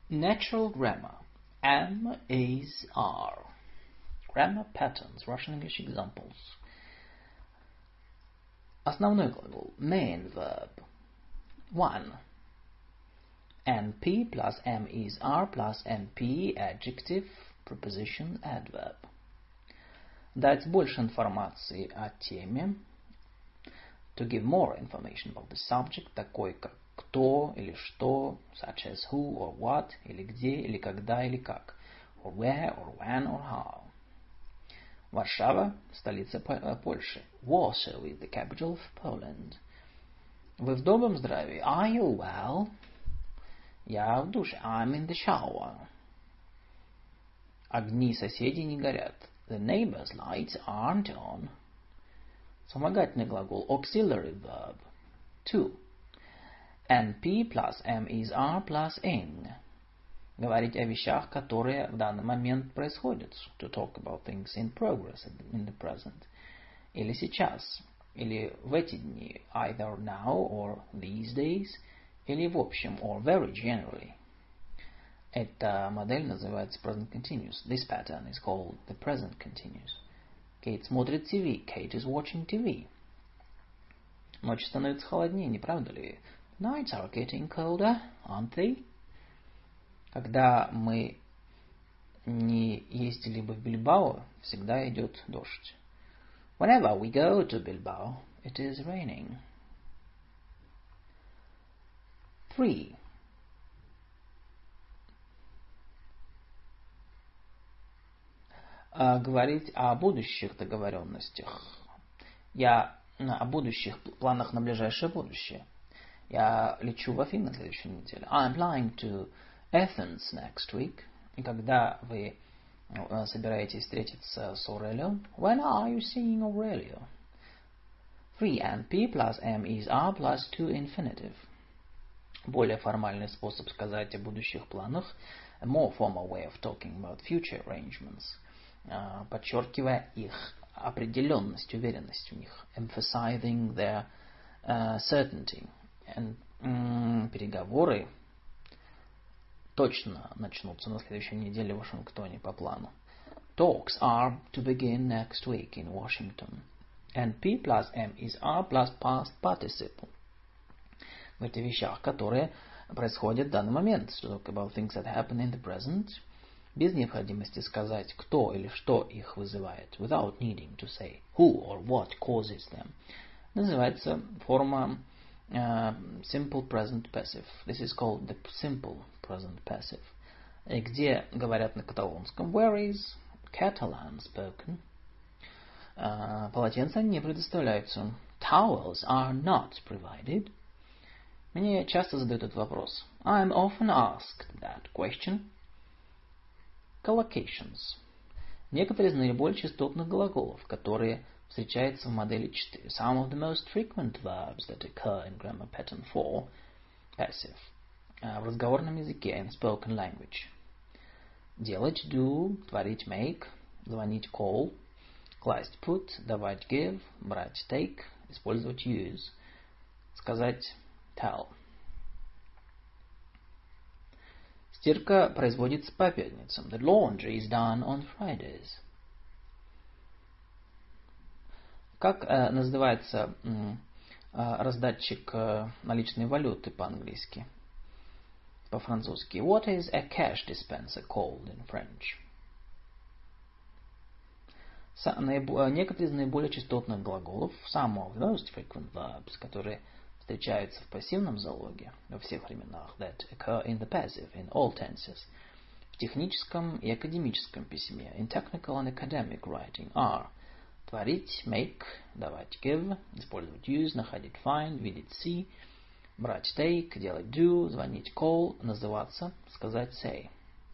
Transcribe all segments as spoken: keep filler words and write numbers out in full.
Natural grammar. Am, is, are. Grammar patterns. Russian English examples. Основной глагол. Main verb. One. N P plus am, is, are plus N P adjective, preposition, adverb. Дать больше информации о теме. To give more information about the subject, такой как кто или что, such as who or what, или где, или когда, или как, or where, or when, or how. Варшава – столица Польши. Warsaw is the capital of Poland. Вы в добром здравии? Are you well? Я в душе. I'm in the shower. Огни соседей не горят. The neighbor's lights aren't on. Вспомогательный глагол. Auxiliary verb. Two. N P plus am, is, are plus ing. Говорить о вещах, которые в данный момент происходят. To talk about things in progress, in the present. Или сейчас. Или в эти дни. Either now or these days. Или в общем, or very generally. Эта модель называется present continuous. This pattern is called the present continuous. Кейт смотрит ти ви. Kate is watching ти ви. Ночи становятся холоднее, не правда ли? Nights are getting colder, aren't they? Когда мы не ездили бы в Бильбао, всегда идет дождь. Whenever we go to Bilbao, it is raining. Three. Говорить о будущих договоренностях. Я о будущих планах на ближайшее будущее. Я лечу в Афины на следующей неделе. I'm flying to Athens next week. И когда вы собираетесь встретиться с Aurelio? When are you seeing Aurelio? Three N P plus am, is, are plus to infinitive. Более формальный способ сказать о будущих планах. A more formal way of talking about future arrangements. Подчеркивая их определенность, уверенность в них. Emphasizing their uh, certainty. And, um, переговоры точно начнутся на следующей неделе в Вашингтоне по плану. Talks are to begin next week in Washington. N P plus am, is, are plus past participle. В этих вещах, которые происходят в данный момент. To talk about things that happen in the present. Без необходимости сказать, кто или что их вызывает. Without needing to say who or what causes them. Называется форма uh, simple present passive. This is called the simple present passive. И где говорят на каталонском. Where is Catalan spoken? Uh, полотенца не предоставляются. Towels are not provided. Мне часто задают этот вопрос. I'm often asked that question. Collocations. Некоторые из наиболее частотных глаголов, которые встречаются в модели четыре. Some of the most frequent verbs that occur in grammar pattern four, passive. В разговорном языке, in spoken language. Делать, do, творить, make, звонить, call, класть, put, давать, give, брать, take, использовать, use, сказать, tell. Стирка производится по пятницам. The laundry is done on Fridays. Как э, называется э, раздатчик э, наличной валюты по-английски? По-французски. What is a cash dispenser called in French? Со, наибо, некоторые из наиболее частотных глаголов, some of the most frequent verbs, которые встречаются в пассивном залоге во всех временах, that occur in the passive, in all tenses, в техническом и академическом письме, in technical and academic writing, are творить, make, давать, give, использовать, use, находить, find, видеть, see, брать, take, делать, do, звонить, call, называться, сказать, say.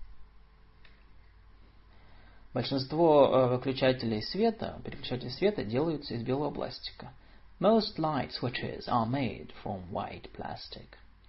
Большинство выключателей света, переключателей света делаются из белого пластика. Most light switches are made from white plastic.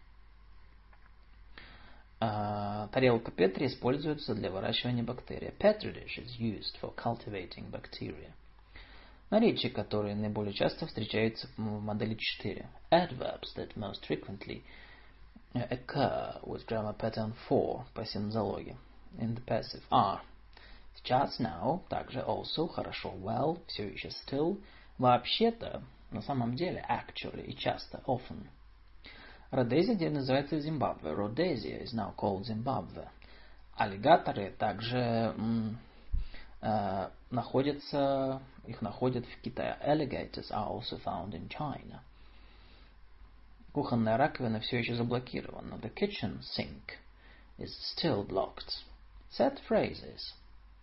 Uh, тарелка Петри используется для выращивания бактерий. Petri dish is used for cultivating bacteria. Наречия, которые наиболее часто встречаются в модели четыре. Adverbs that most frequently occur with grammar pattern four, пассивном залоге, in the passive are. Сейчас, now, также also, хорошо, well, все еще still, вообще-то, на самом деле, actually, и часто, often. Родезия теперь называется Зимбабве. Rhodesia is now called Zimbabwe. Аллигаторы также м, э, находятся, их находят в Китае. Alligators are also found in China. Кухонная раковина все еще заблокирована. The kitchen sink is still blocked. Set phrases.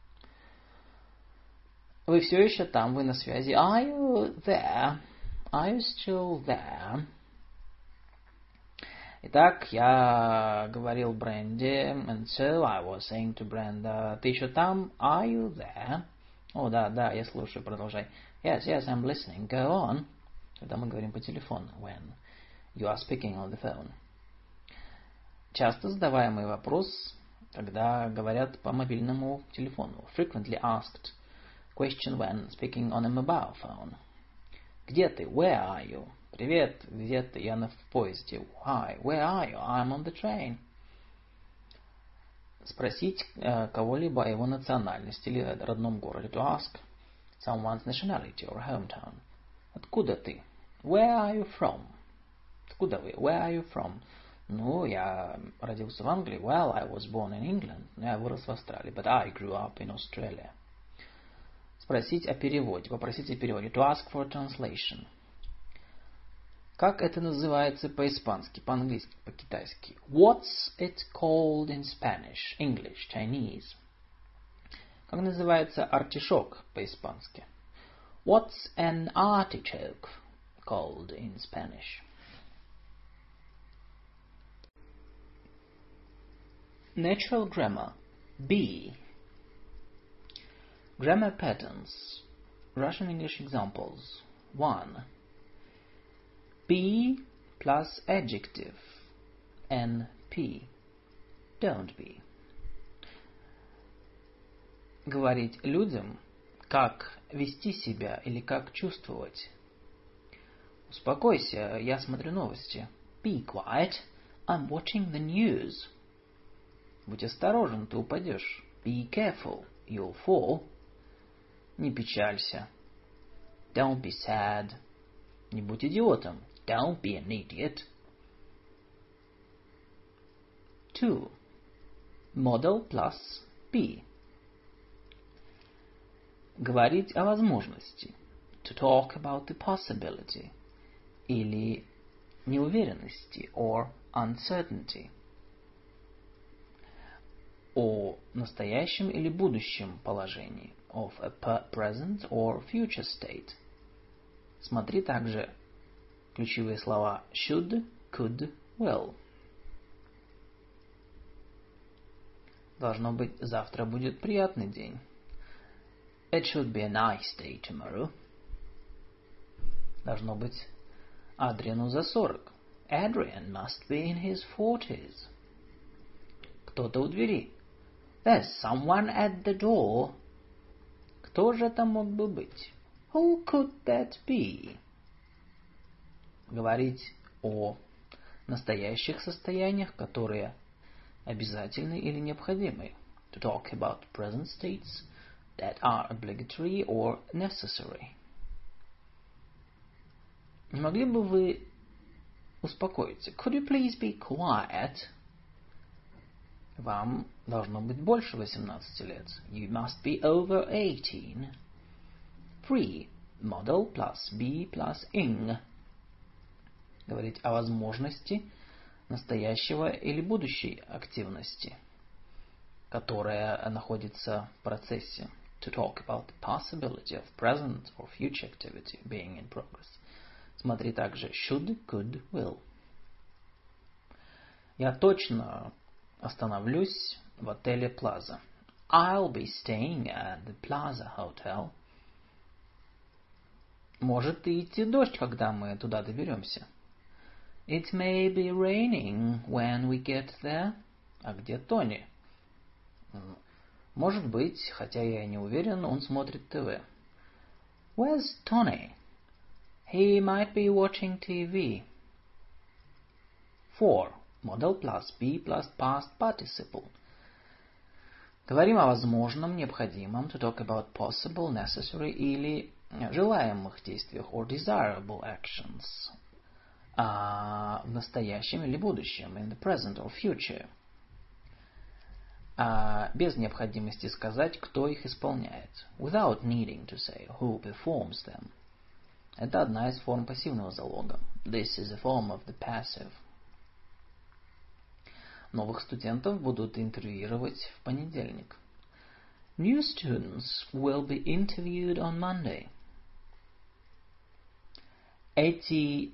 Вы все еще там, вы на связи. Are you there? Are you still there? Итак, я говорил Бренде, and so I was saying to Brenda, ты еще там? Are you there? О, да, да, я слушаю, продолжай. Yes, yes, I'm listening. Go on. Когда мы говорим по телефону. When you are speaking on the phone. Часто задаваемый вопрос, когда говорят по мобильному телефону. Frequently asked question when speaking on a mobile phone. Где ты? Where are you? Привет, где ты? Я на в поезде. Hi, where are you? I'm on the train. Спросить э, кого-либо о его национальности или родном городе. To ask someone's nationality or hometown. Откуда ты? Where are you from? Откуда вы? Where are you from? Ну, я родился в Англии. Well, I was born in England. Я вырос в Австралии. But I grew up in Australia. Спросить о переводе. Попросить о переводе. To ask for a translation. Как это называется по-испански, по-английски, по-китайски? What's it called in Spanish, English, Chinese? Как называется артишок по-испански? What's an artichoke called in Spanish? Natural grammar. B. Grammar patterns. Russian English examples. one. Be plus adjective. N P. Don't be. Говорить людям, как вести себя или как чувствовать. Успокойся, я смотрю новости. Be quiet, I'm watching the news. Будь осторожен, ты упадешь. Be careful, you'll fall. Не печалься. Don't be sad. Не будь идиотом. Don't be an idiot. two. Model plus be. Говорить о возможности. To talk about the possibility. Или неуверенности or uncertainty. О настоящем или будущем положении. Of a present or future state. Смотри также ключевые слова should, could, will. Должно быть, завтра будет приятный день. It should be a nice day tomorrow. Должно быть, Адриану за сорок. Adrian must be in his forties. Кто-то у двери. There's someone at the door. Кто же это мог бы быть? Who could that be? Говорить о настоящих состояниях, которые обязательны или необходимы. To talk about present states that are obligatory or necessary. Не могли бы вы успокоиться? Could you please be quiet? Вам должно быть больше восемнадцати лет. You must be over eighteen. three. Model plus be plus ing. Говорить о возможности настоящего или будущей активности, которая находится в процессе. To talk about the possibility of present or future activity being in progress. Смотри также should, could, will. Я точно остановлюсь в отеле Plaza. I'll be staying at the Plaza Hotel. Может и идти дождь, когда мы туда доберемся. It may be raining when we get there. А где Тони? Может быть, хотя я и не уверен, он смотрит ТВ. Where's Tony? He might be watching T V. four. Modal plus be plus past participle. Говорим о возможном, необходимом, to talk about possible, necessary или желаемых действиях, or desirable actions. А, в настоящем или будущем, in the present or future. А, без необходимости сказать, кто их исполняет. Without needing to say who performs them. Это одна из форм пассивного залога. This is a form of the passive. Новых студентов будут интервьюировать в понедельник. New students will be interviewed on Monday. Эти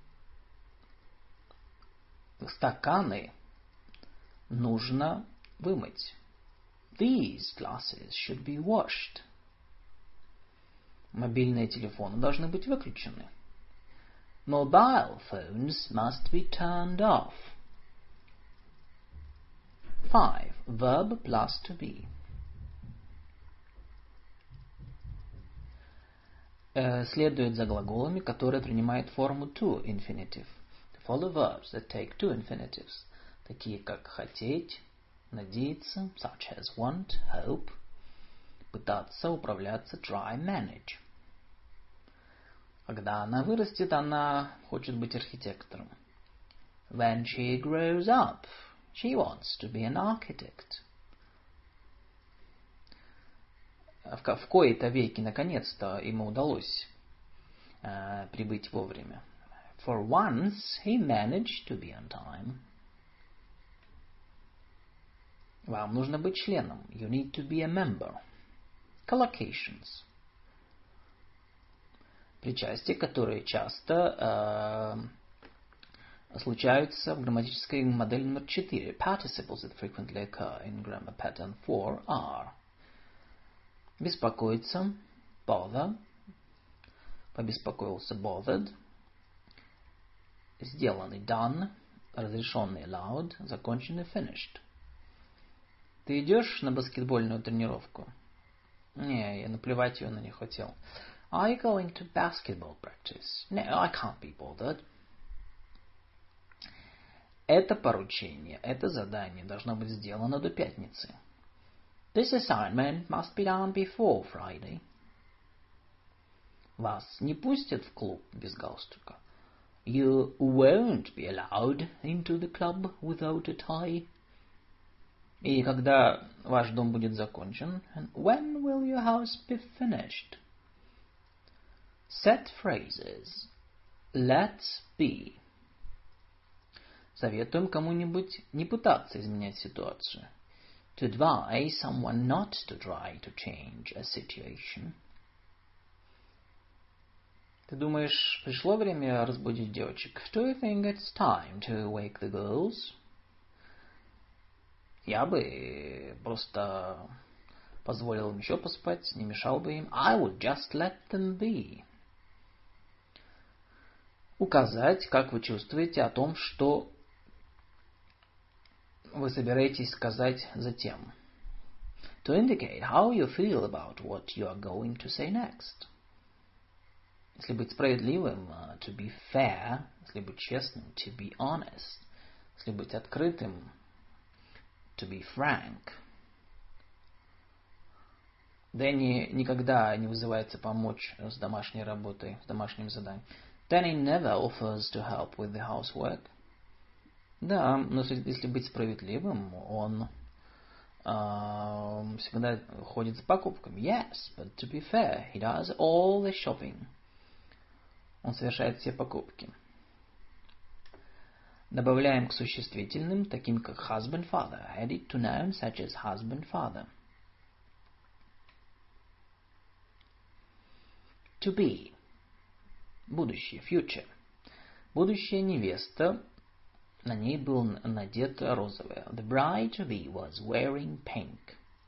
стаканы нужно вымыть. These glasses should be washed. Мобильные телефоны должны быть выключены. Mobile phones must be turned off. Five. Verb plus to be. Э, следует за глаголами, которые принимают форму to infinitive. To follow verbs that take two infinitives, такие как хотеть, надеяться, such as want, hope, пытаться, управляться, try, manage. Когда она вырастет, она хочет быть архитектором. When she grows up, she wants to be an architect. В, в кои-то веки, наконец-то, ему удалось э, прибыть вовремя. For once, he managed to be on time. Вам нужно быть членом. You need to be a member. Collocations. Причастия, которые часто э, случаются в грамматической модели номер четыре. Participles that frequently occur in grammar pattern four are: беспокоиться, bother, побеспокоился, bothered, сделанный, done, разрешенный, allowed, законченный, finished. Ты идешь на баскетбольную тренировку? Не, я наплевать ее на не хотел. Are you going to basketball practice? No, I can't be bothered. Это поручение, это задание должно быть сделано до пятницы. This assignment must be done before Friday. Вас не пустят в клуб без галстука. You won't be allowed into the club without a tie. И когда ваш дом будет закончен? And when will your house be finished? Set phrases. Let's be. Советуем кому-нибудь не пытаться изменять ситуацию. To advise someone not to try to change a situation. Ты думаешь, пришло время разбудить девочек? Do you think it's time to wake the girls? Я бы просто позволил им еще поспать, не мешал бы им. I would just let them be. Указать, как вы чувствуете о том, что вы собираетесь сказать затем. To indicate how you feel about what you are going to say next. Если быть справедливым, to be fair. Если быть честным, to be honest. Если быть открытым, to be frank. Дэнни никогда не вызывается помочь с домашней работой, с домашним заданием. Danny never offers to help with the housework. Да, но если быть справедливым, он э, всегда ходит за покупками. Yes, but to be fair, he does all the shopping. Он совершает все покупки. Добавляем к существительным, таким как husband, father, added to nouns such as husband, father. To be. Будущее, future. Будущая невеста, на ней был надет розовое. The bride to be was wearing pink.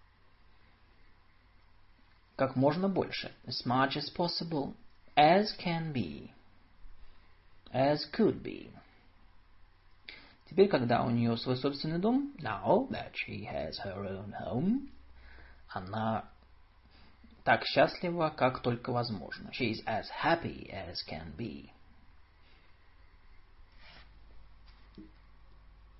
Как можно больше. As much as possible. As can be. As could be. Теперь, когда у нее свой собственный дом, now that she has her own home, она так счастлива, как только возможно. She is as happy as can be.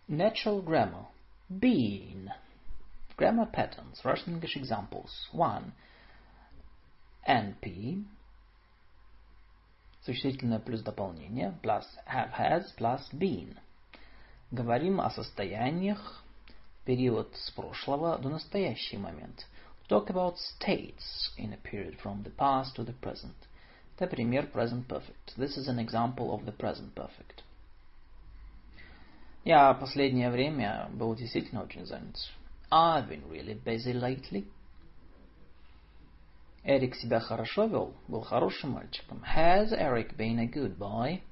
Natural grammar. Been. Grammar patterns. Russian English examples. One. N P. Существительное плюс дополнение. Plus have, has, plus been. Говорим о состояниях в период с прошлого до настоящий момент. Talk about states in a period from the past to the present. Это пример present perfect. This is an example of the present perfect. Я последнее время был действительно очень занят. I've been really busy lately. Эрик себя хорошо вел, был хорошим мальчиком. Has Eric been a good boy?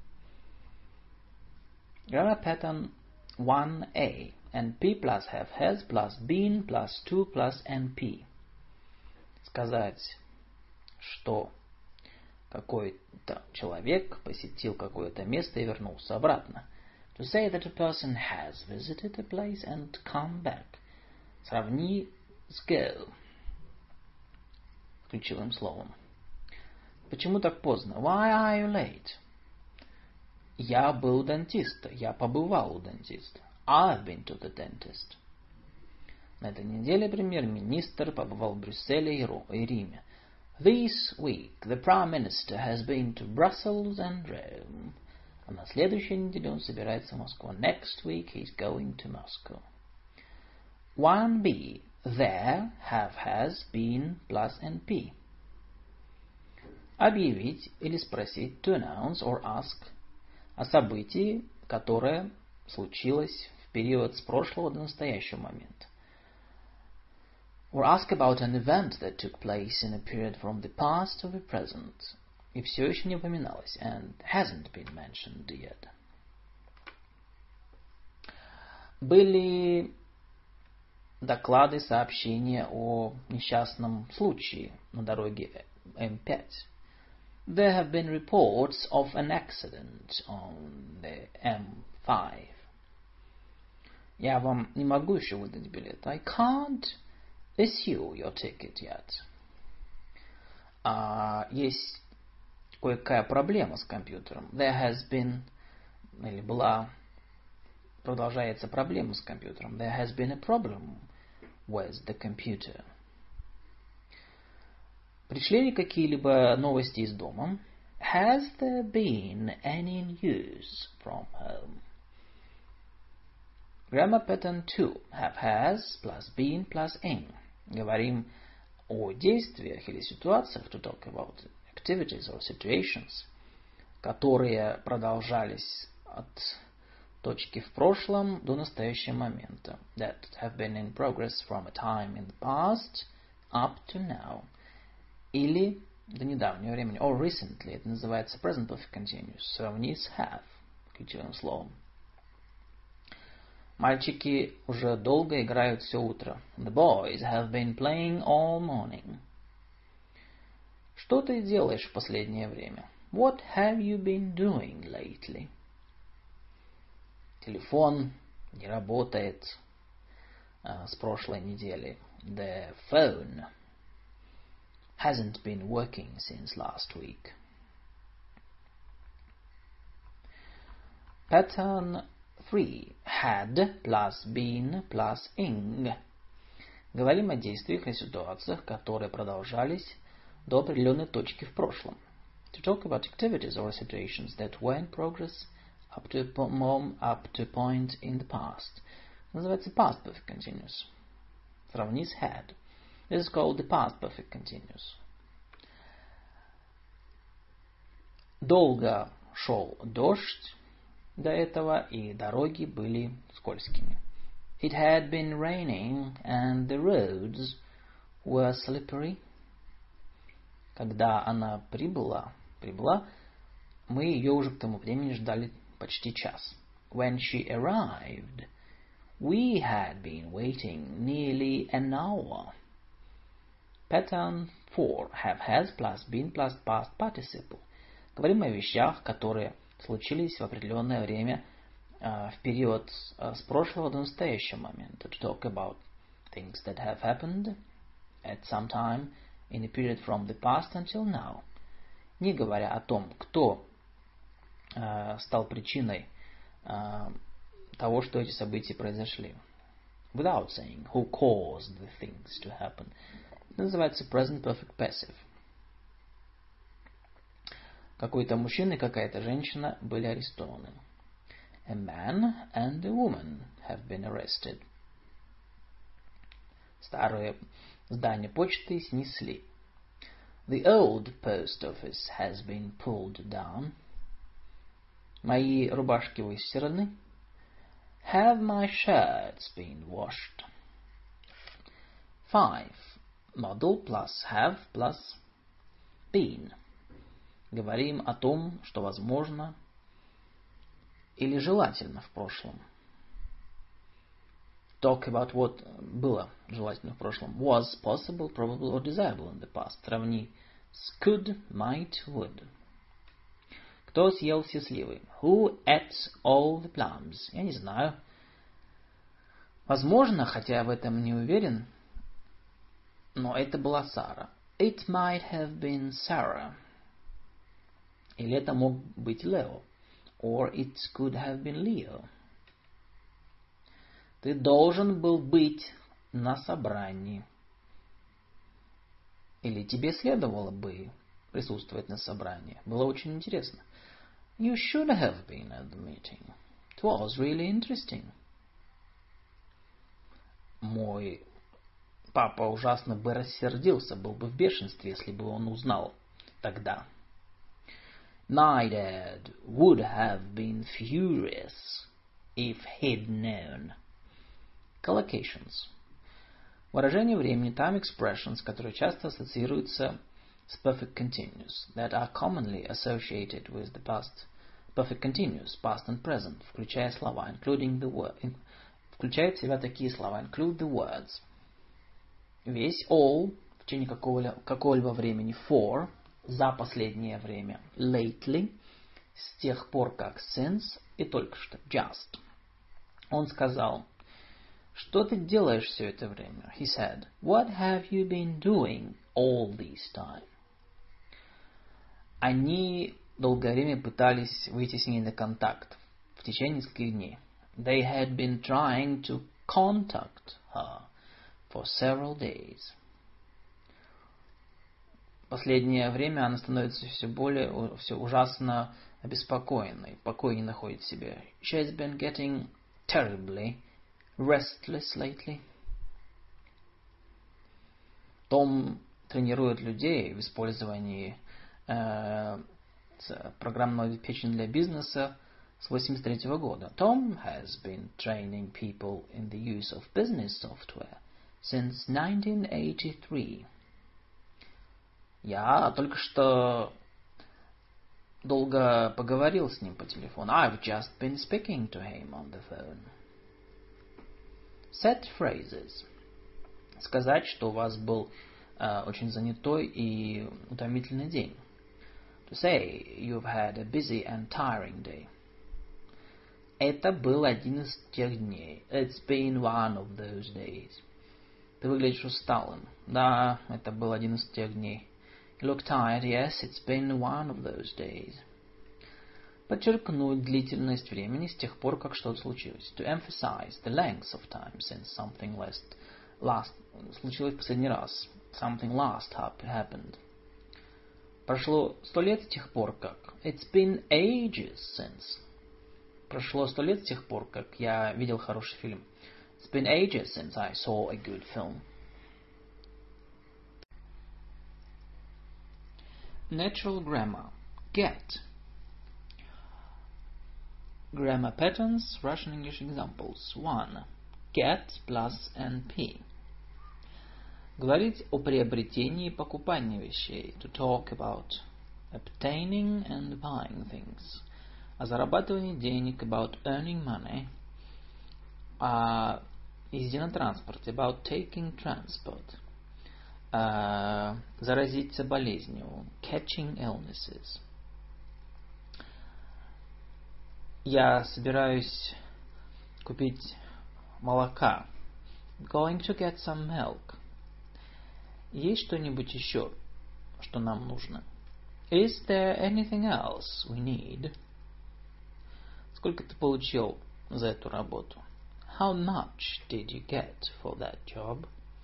Grammar pattern one A. N P plus have, has plus been plus to plus N P. Сказать, что какой-то человек посетил какое-то место и вернулся обратно. To say that a person has visited a place and come back. Сравни с go. Ключевым словом. Почему так поздно? Why are you late? Я был у дантиста. Я побывал у дантиста. I've been to the dentist. На этой неделе премьер-министр побывал в Брюсселе и Риме. This week the Prime Minister has been to Brussels and Rome. А на следующей неделе он собирается в Москву. Next week he's going to Moscow. one B. There, have, has, been, plus N P. Объявить или спросить, to announce or ask, о событии, которое случилось в период с прошлого до настоящего момента. Or ask about an event that took place in a period from the past to the present. И все еще не упоминалось, and hasn't been mentioned yet. Были доклады, сообщения о несчастном случае на дороге М пять. There have been reports of an accident on the М пять. Я вам не могу еще выдать билет. I can't issue your ticket yet. А, есть кое-какая проблема с компьютером. There has been, или была, продолжается проблема с компьютером. There has been a problem with the computer. Пришли ли какие-либо новости из дома? Has there been any news from home? Grammar pattern two. Have, has, plus been, plus in. Говорим о действиях или ситуациях, to talk about activities or situations, которые продолжались от точки в прошлом до настоящего момента. That have been in progress from a time in the past up to now. Или до недавнего времени. Or recently. Это называется present perfect continuous. Сравни с have. Ключевым словом. Мальчики уже долго играют все утро. The boys have been playing all morning. Что ты делаешь в последнее время? What have you been doing lately? Телефон не работает uh, с прошлой недели. The phone hasn't been working since last week. Pattern three. Had plus been plus ing. Говорим о действиях и ситуациях, которые продолжались до определенной точки в прошлом. To talk about activities or situations that were in progress up to a mom, up to a point in the past. Называется past perfect continuous. Сравни с had. This is called the past perfect continuous. Долго шел дождь до этого, и дороги были скользкими. It had been raining, and the roads were slippery. Когда она прибыла, прибыла, мы ее уже к тому времени ждали почти час. When she arrived, we had been waiting nearly an hour. Pattern four. Have, has, plus been, plus past participle. Говорим о вещах, которые случились в определенное время, uh, в период uh, с прошлого до настоящего момента. To talk about things that have happened at some time in a period from the past until now. Не говоря о том, кто uh, стал причиной uh, того, что эти события произошли. Without saying who caused the things to happen. Это называется present perfect passive. Какой-то мужчина и какая-то женщина были арестованы. A man and a woman have been arrested. Старое здание почты снесли. The old post office has been pulled down. Мои рубашки выстираны. Have my shirts been washed? Five. Model plus have plus been. Говорим о том, что возможно или желательно в прошлом. Talk about what было желательно в прошлом. Was possible, probable or desirable in the past. Сравни с could, might, would. Кто съел все сливы? Who ate all the plums? Я не знаю. Возможно, хотя в этом не уверен, но это была Сара. It might have been Sarah. Или это мог быть Лео. Or it could have been Leo. Ты должен был быть на собрании. Или тебе следовало бы присутствовать на собрании. Было очень интересно. You should have been at the meeting. It was really interesting. Мой папа ужасно бы рассердился, был бы в бешенстве, если бы он узнал тогда. My dad would have been furious if he'd known. Collocations. Выражение времени, time expressions, которые часто ассоциируются с perfect continuous, that are commonly associated with the past perfect continuous, past and present, включая слова, including the word, включает в себя такие слова, include the words. Весь, all, в течение какого-либо, какого-либо времени, for, за последнее время, lately, с тех пор как, since, и только что, just. Он сказал, что ты делаешь все это время? He said, what have you been doing all this time? Они долгое время пытались выйти с ней на контакт в течение нескольких дней. They had been trying to contact her for several days. Последнее время она становится все более, все ужасно обеспокоенной, покой не находит в себе. She has been getting terribly restless lately. Том тренирует людей в использовании э, программного обеспечения для бизнеса с восемьдесят третьего года. Tom has been training people in the use of business software since nineteen eighty-three. Я только что долго поговорил с ним по телефону. I've just been speaking to him on the phone. Set phrases. Сказать, что у вас был uh, очень занятой и утомительный день. To say you've had a busy and tiring day. Это был один из тех дней. It's been one of those days. Ты выглядишь усталым. Да, это был один из тех дней. You look tired. Yes, it's been one of those days. Подчеркнуть длительность времени с тех пор, как что-то случилось. To emphasize the length of time since something last, last случилось в последний раз. Something last happened. Прошло сто лет с тех пор, как. It's been ages since. Прошло сто лет с тех пор, как я видел хороший фильм. It's been ages since I saw a good film. Natural grammar. Get. Grammar patterns, Russian English examples. one. Get plus N P. Говорить о приобретении и покупании вещей. To talk about obtaining and buying things. О зарабатывании денег. About earning money. О езде на транспорте. About taking transport. О заразиться болезнью. Catching illnesses. Я собираюсь купить молока. Going to get some milk. Есть что-нибудь еще, что нам нужно? Is there anything else we need? Сколько ты получил за эту работу? How much did you get for that job?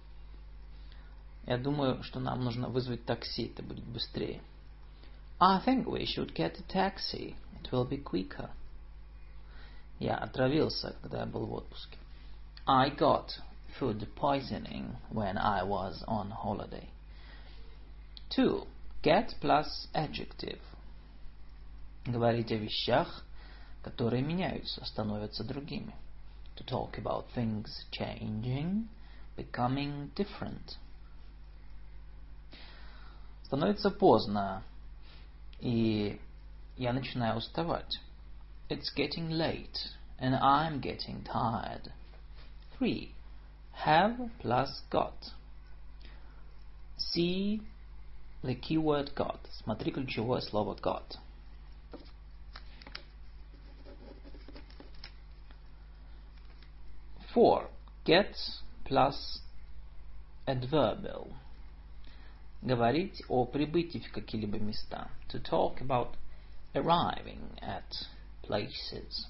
Я думаю, что нам нужно вызвать такси, это будет быстрее. I think we should get a taxi. It will be quicker. Я отравился, когда я был в отпуске. I got food poisoning when I was on holiday. Two. Get plus adjective. Говорить о вещах, которые меняются, становятся другими. To talk about things changing, becoming different. Становится поздно, и я начинаю уставать. It's getting late, and I'm getting tired. Three. Have plus got. See the keyword got. Смотри ключевое слово got. Four. Get plus adverbial. Говорить о прибытии в какие-либо места. To talk about arriving at places.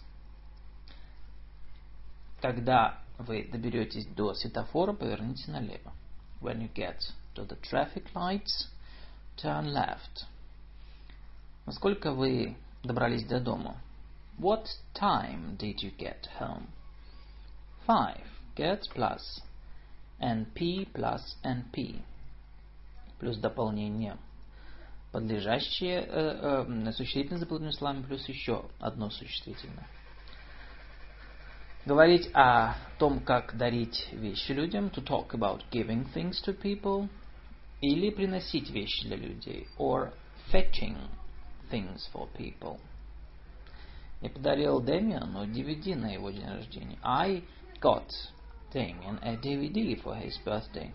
Когда вы доберетесь до светофора, поверните налево. When you get to the traffic lights, turn left. Насколько вы добрались до дома? What time did you get home? Five. Get plus np plus np. Плюс дополнение. Подлежащее э, э, существительное за подобными словами плюс еще одно существительное. Говорить о том, как дарить вещи людям. To talk about giving things to people. Или приносить вещи для людей. Or fetching things for people. Я подарил Дэмиану ди ви ди на его день рождения. I got Damien a ди ви ди for his birthday.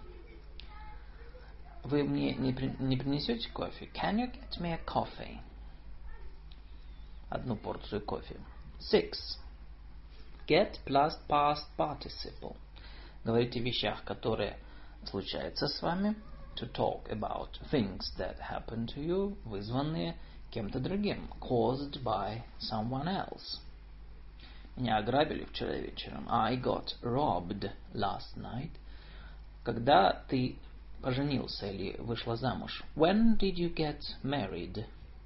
Вы мне не, при, не принесете кофе? Can you get me a coffee? Одну порцию кофе. Six. Get plus past participle. Говорить о вещах, которые случаются с вами. To talk about things that happen to you, вызванные кем-то другим. Caused by someone else. Меня ограбили вчера вечером. I got robbed last night. Когда ты поженился или вышла замуж? When did you get married?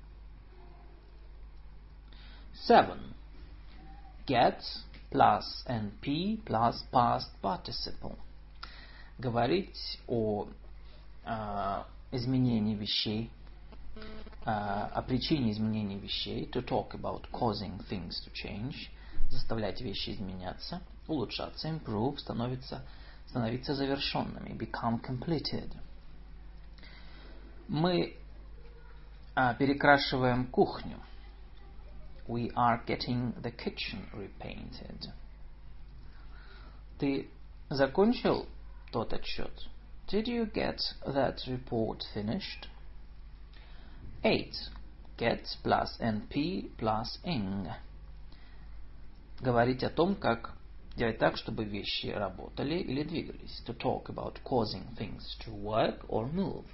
Seven. Get plus np plus past participle. Говорить о э, изменении вещей, э, о причине изменения вещей. To talk about causing things to change. Заставлять вещи изменяться, улучшаться, improve, становиться становиться завершенными, become completed. Мы а, перекрашиваем кухню. We are getting the kitchen repainted. Ты закончил тот отчет? Did you get that report finished? Eight. Get plus np plus ing. Говорить о том, как делать так, чтобы вещи работали или двигались. To talk about causing things to work or move.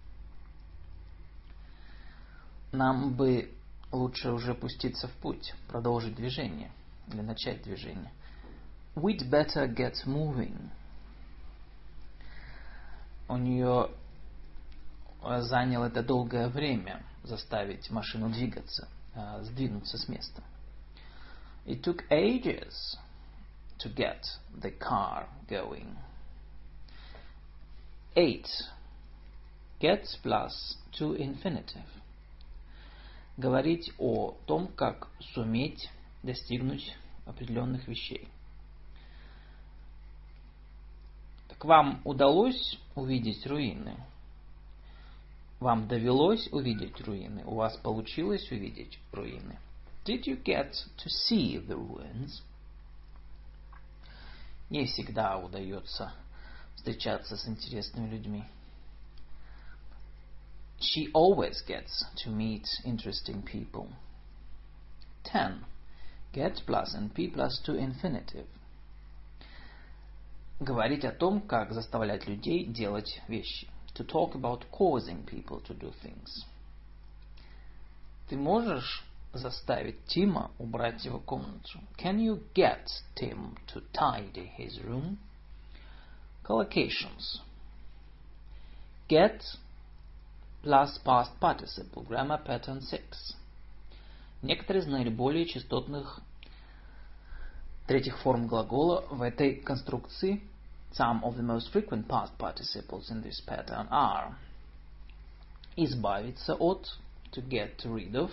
Нам бы лучше уже пуститься в путь, продолжить движение или начать движение. We'd better get moving. У нее заняло это долгое время заставить машину двигаться, сдвинуться с места. It took ages to get the car going. Eight. Get plus to infinitive. Говорить о том, как суметь достигнуть определенных вещей. Так вам удалось увидеть руины? Вам довелось увидеть руины? У вас получилось увидеть руины? Did you get to see the ruins? Не всегда удается встречаться с интересными людьми. She always gets to meet interesting people. Ten. Get plus np plus to infinitive. Говорить о том, как заставлять людей делать вещи. To talk about causing people to do things. Ты можешь заставить Тима убрать его комнату? Can you get Tim to tidy his room? Collocations. Get plus past participle. Grammar pattern six. Некоторые из наиболее частотных третьих форм глагола в этой конструкции. Some of the most frequent past participles in this pattern are избавиться от, to get rid of,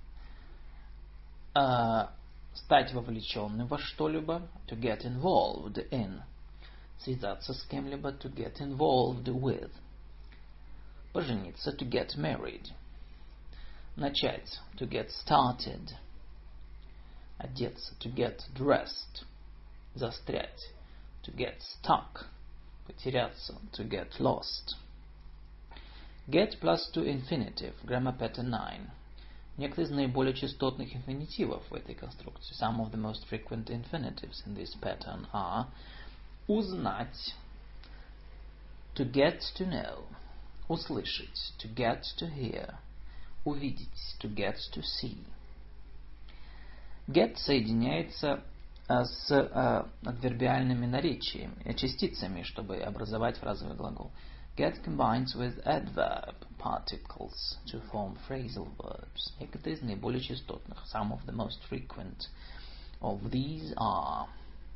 uh, стать вовлеченным во что-либо, to get involved in, связаться с кем-либо, to get involved with, пожениться, to get married, начать, to get started, одеться, to get dressed, застрять, to get stuck, потеряться, to get lost. Get plus to infinitive, grammar pattern nine. Некоторые из наиболее частотных инфинитивов в этой конструкции. Some of the most frequent infinitives in this pattern are узнать, to get to know, услышать, to get to hear, увидеть, to get to see. Get соединяется с uh, адвербиальными наречиями, частицами, чтобы образовать фразовый глагол. Get combines with adverb particles to form phrasal verbs. Некоторые из наиболее частотных. Some of the most frequent of these are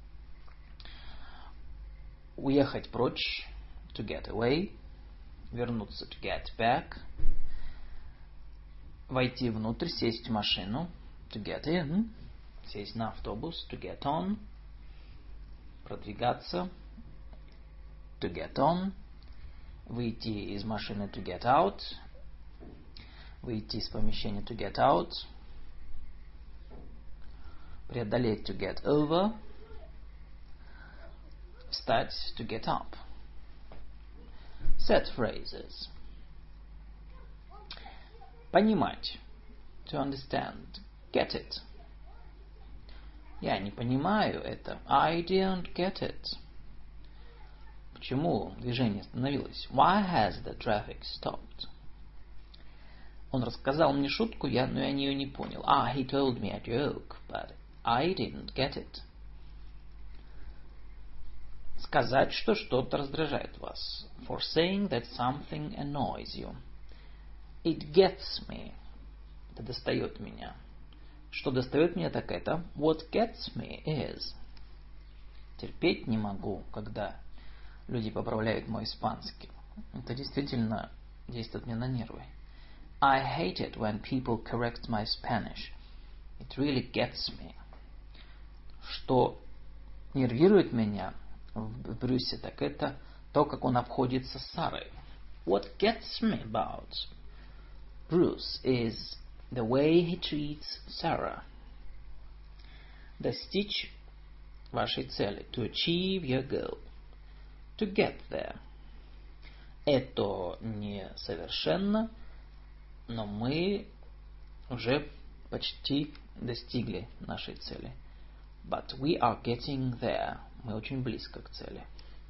уехать прочь, to get away, вернуться, to get back, войти внутрь, сесть в машину, to get in, сесть на автобус, to get on, продвигаться, to get on, выйти из машины, to get out, выйти из помещения, to get out, преодолеть, to get over, встать, to get up. Set phrases. Понимать, to understand, get it. Я не понимаю это. I don't get it. Почему движение остановилось? Why has the traffic stopped? Он рассказал мне шутку, я, но я ее не понял. Ah, he told me a joke, but I didn't get it. Сказать, что что-то раздражает вас. For saying that something annoys you. It gets me. Это достает меня. Что достает меня, так это what gets me is. Терпеть не могу, когда люди поправляют мой испанский. Это действительно действует мне на нервы. I hate it when people correct my Spanish. It really gets me. Что нервирует меня в Брюсе, так это то, как он обходится с Сарой. What gets me about Bruce is the way he treats Sarah. Достичь вашей цели. To achieve your goal. To get there. Это не совершенно, но мы уже почти достигли нашей цели. But we are getting there. Мы очень близко к цели.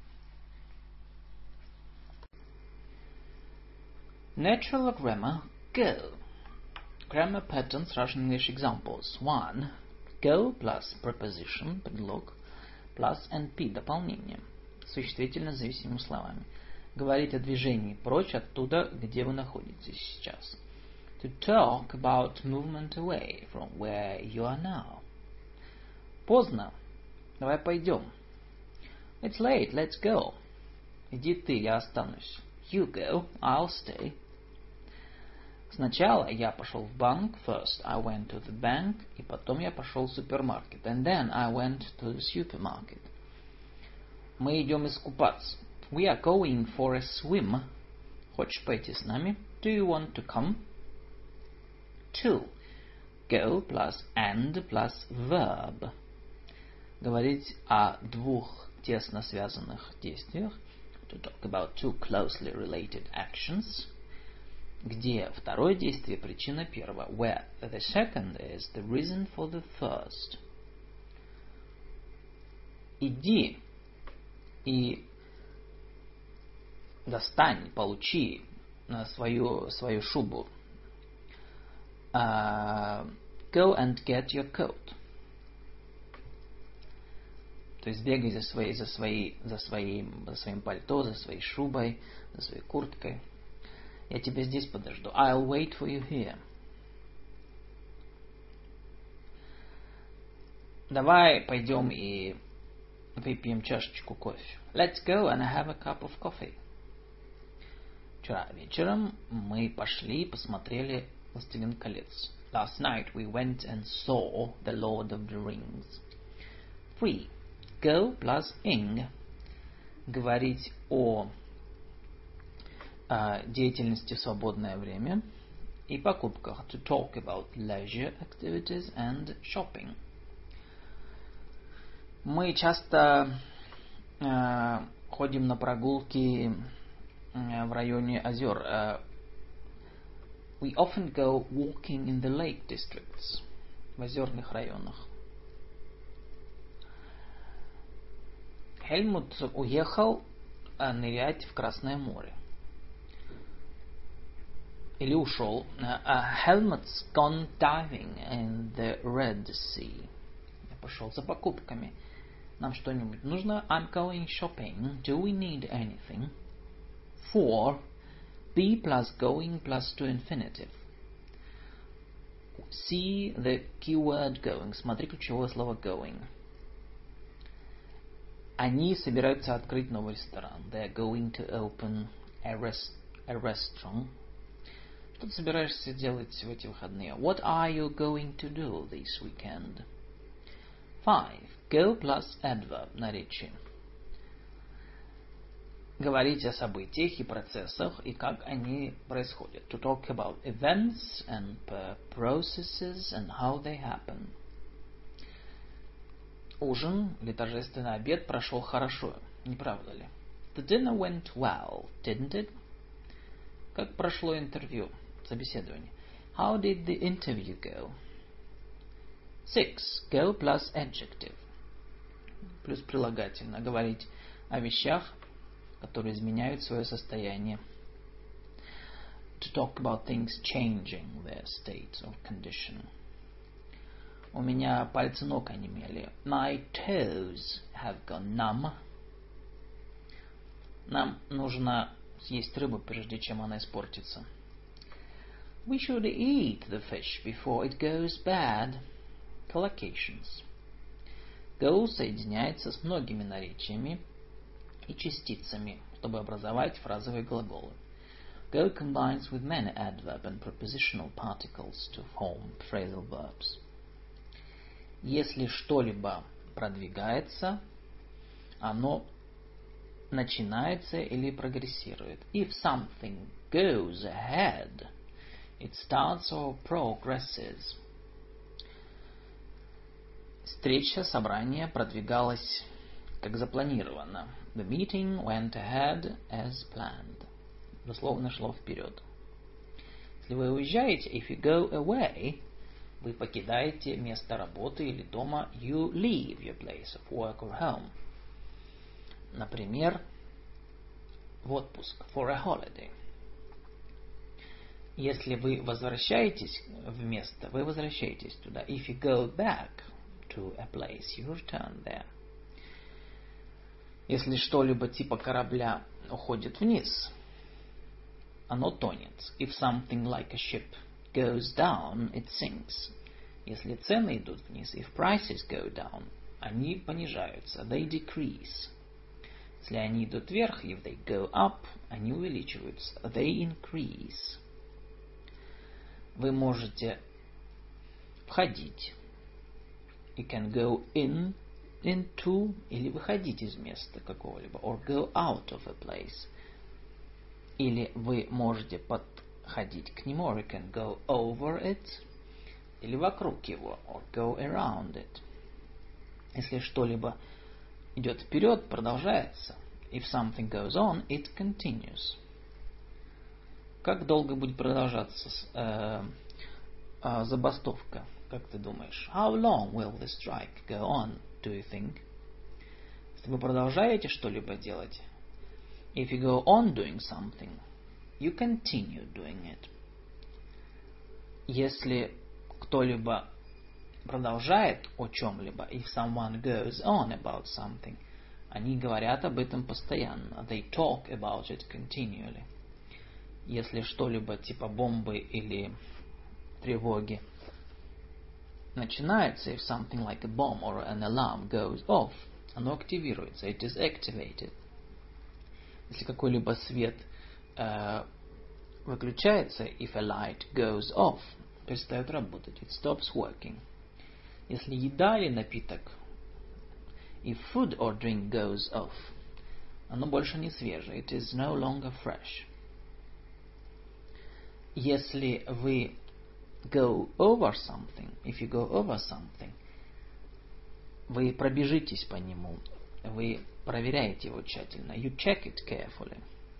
Natural grammar, go. Grammar patterns, Russian English examples. One. Go plus preposition, предлог, plus N P, дополнение. Существительно зависимыми словами. Говорить о движении прочь оттуда, где вы находитесь сейчас. To talk about movement away from where you are now. Поздно. Давай пойдем. It's late. Let's go. Иди ты, я останусь. You go. I'll stay. Сначала я пошел в банк. First I went to the bank. И потом я пошел в супермаркет. And then I went to the supermarket. Мы идем искупаться. We are going for a swim. Хочешь пойти с нами? Do you want to come? Two. Go plus and plus verb. Говорить о двух тесно связанных действиях. To talk about two closely related actions. Где второе действие причина первого. Where the second is the reason for the first. Иди и достань, получи свою, свою шубу. Uh, Go and get your coat. То есть бегай за своей, за своей, за своим, за своим пальто, за своей шубой, за своей курткой. Я тебя здесь подожду. I'll wait for you here. Давай пойдем и выпьем чашечку кофе. Let's go and have a cup of coffee. Вчера вечером мы пошли и посмотрели «Властелин колец». Last night we went and saw The Lord of the Rings. Three. Go plus ing. Говорить о, о деятельности в свободное время и покупках. To talk about leisure activities and shopping. Мы часто э, ходим на прогулки э, в районе озер. Э, we often go walking in the lake districts. В озерных районах. Хельмут уехал э, нырять в Красное море. Или ушел. Uh, Helmut's gone diving in the Red Sea. Я пошел за покупками. Нам что-нибудь нужно? I'm going shopping. Do we need anything? Four. Be plus going plus to infinitive. See the keyword going. Смотри ключевое слово going. Они собираются открыть новый ресторан. They're going to open a, rest, a restaurant. Что ты собираешься делать в эти выходные? What are you going to do this weekend? Five. Go plus adverb. Наречие. Говорить о событиях и процессах и как они происходят. To talk about events and processes and how they happen. Ужин или торжественный обед прошел хорошо, не правда ли? The dinner went well, didn't it? Как прошло интервью, собеседование? How did the interview go? Six. Go plus adjective. Плюс прилагательное. Говорить о вещах, которые изменяют свое состояние. To talk about things changing their state or condition. У меня пальцы ног онемели. My toes have gone numb. Нам нужно съесть рыбу, прежде чем она испортится. We should eat the fish before it goes bad. Collocations. Go соединяется с многими наречиями и частицами, чтобы образовать фразовые глаголы. Go combines with many adverb and prepositional particles to form phrasal verbs. Если что-либо продвигается, оно начинается или прогрессирует. If something goes ahead, it starts or progresses. Встреча, собрание продвигалось как запланировано. The meeting went ahead as planned. Дословно шло вперед. Если вы уезжаете, if you go away, вы покидаете место работы или дома. You leave your place of work or home. Например, в отпуск. For a holiday. Если вы возвращаетесь в место, вы возвращаетесь туда. If you go back to a place, you return there. Если что-либо типа корабля уходит вниз, оно тонет. If something like a ship goes down, it sinks. Если цены идут вниз, if prices go down, они понижаются. They decrease. Если они идут вверх, if they go up, они увеличиваются. They increase. Вы можете входить. You can go in, into, или выходить из места какого-либо. Or go out of a place. Или вы можете подходить к нему. Or you can go over it. Или вокруг его. Or go around it. Если что-либо идет вперед, продолжается. If something goes on, it continues. Как долго будет продолжаться э, э, забастовка? Как ты думаешь? How long will the strike go on, do you think? Если вы продолжаете что-либо делать, if you go on doing something, you continue doing it. Если кто-либо продолжает о чем-либо, if someone goes on about something, они говорят об этом постоянно. They talk about it continually. Если что-либо типа бомбы или тревоги начинается, if something like a bomb or an alarm goes off, оно активируется, it is activated. Если какой-либо свет э, выключается, if a light goes off, перестает работать, it stops working. Если еда или напиток, if food or drink goes off, оно больше не свежее, it is no longer fresh. Если вы go over something, if you go over something, вы пробежитесь по нему, вы проверяете его тщательно, you check it carefully.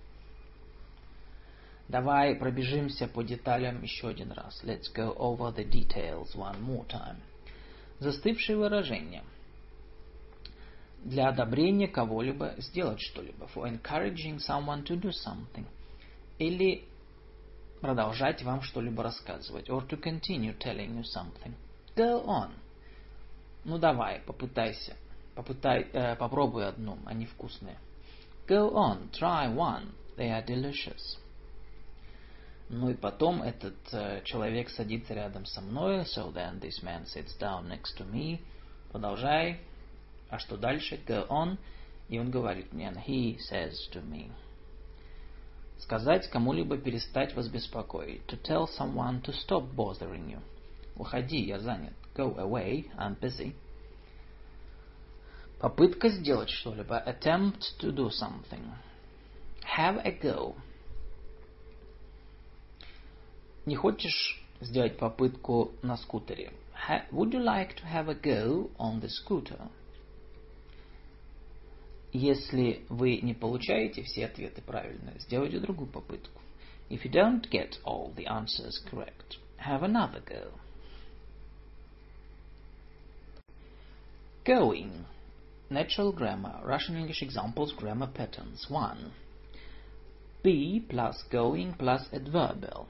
Давай пробежимся по деталям еще один раз. Let's go over the details one more time. Застывшие выражения. Для одобрения кого-либо сделать что-либо. For encouraging someone to do something. Или продолжать вам что-либо рассказывать. Or to continue telling you something. Go on. Ну давай, попытайся. Попытай, э, попробуй одну, они вкусные. Go on, try one. They are delicious. Ну и потом этот э, человек садится рядом со мной. So then this man sits down next to me. Продолжай. А что дальше? Go on. И он говорит мне. And he says to me. Сказать кому-либо перестать вас беспокоить. To tell someone to stop bothering you. Уходи, я занят. Go away, I'm busy. Попытка сделать что-либо. Attempt to do something. Have a go. Не хочешь сделать попытку на скутере? Would you like to have a go on the scooter? Если вы не получаете все ответы правильно, сделайте другую попытку. If you don't get all the answers correct, have another go. Going. Natural grammar. Russian English examples, grammar patterns. One. Be plus going plus adverbial.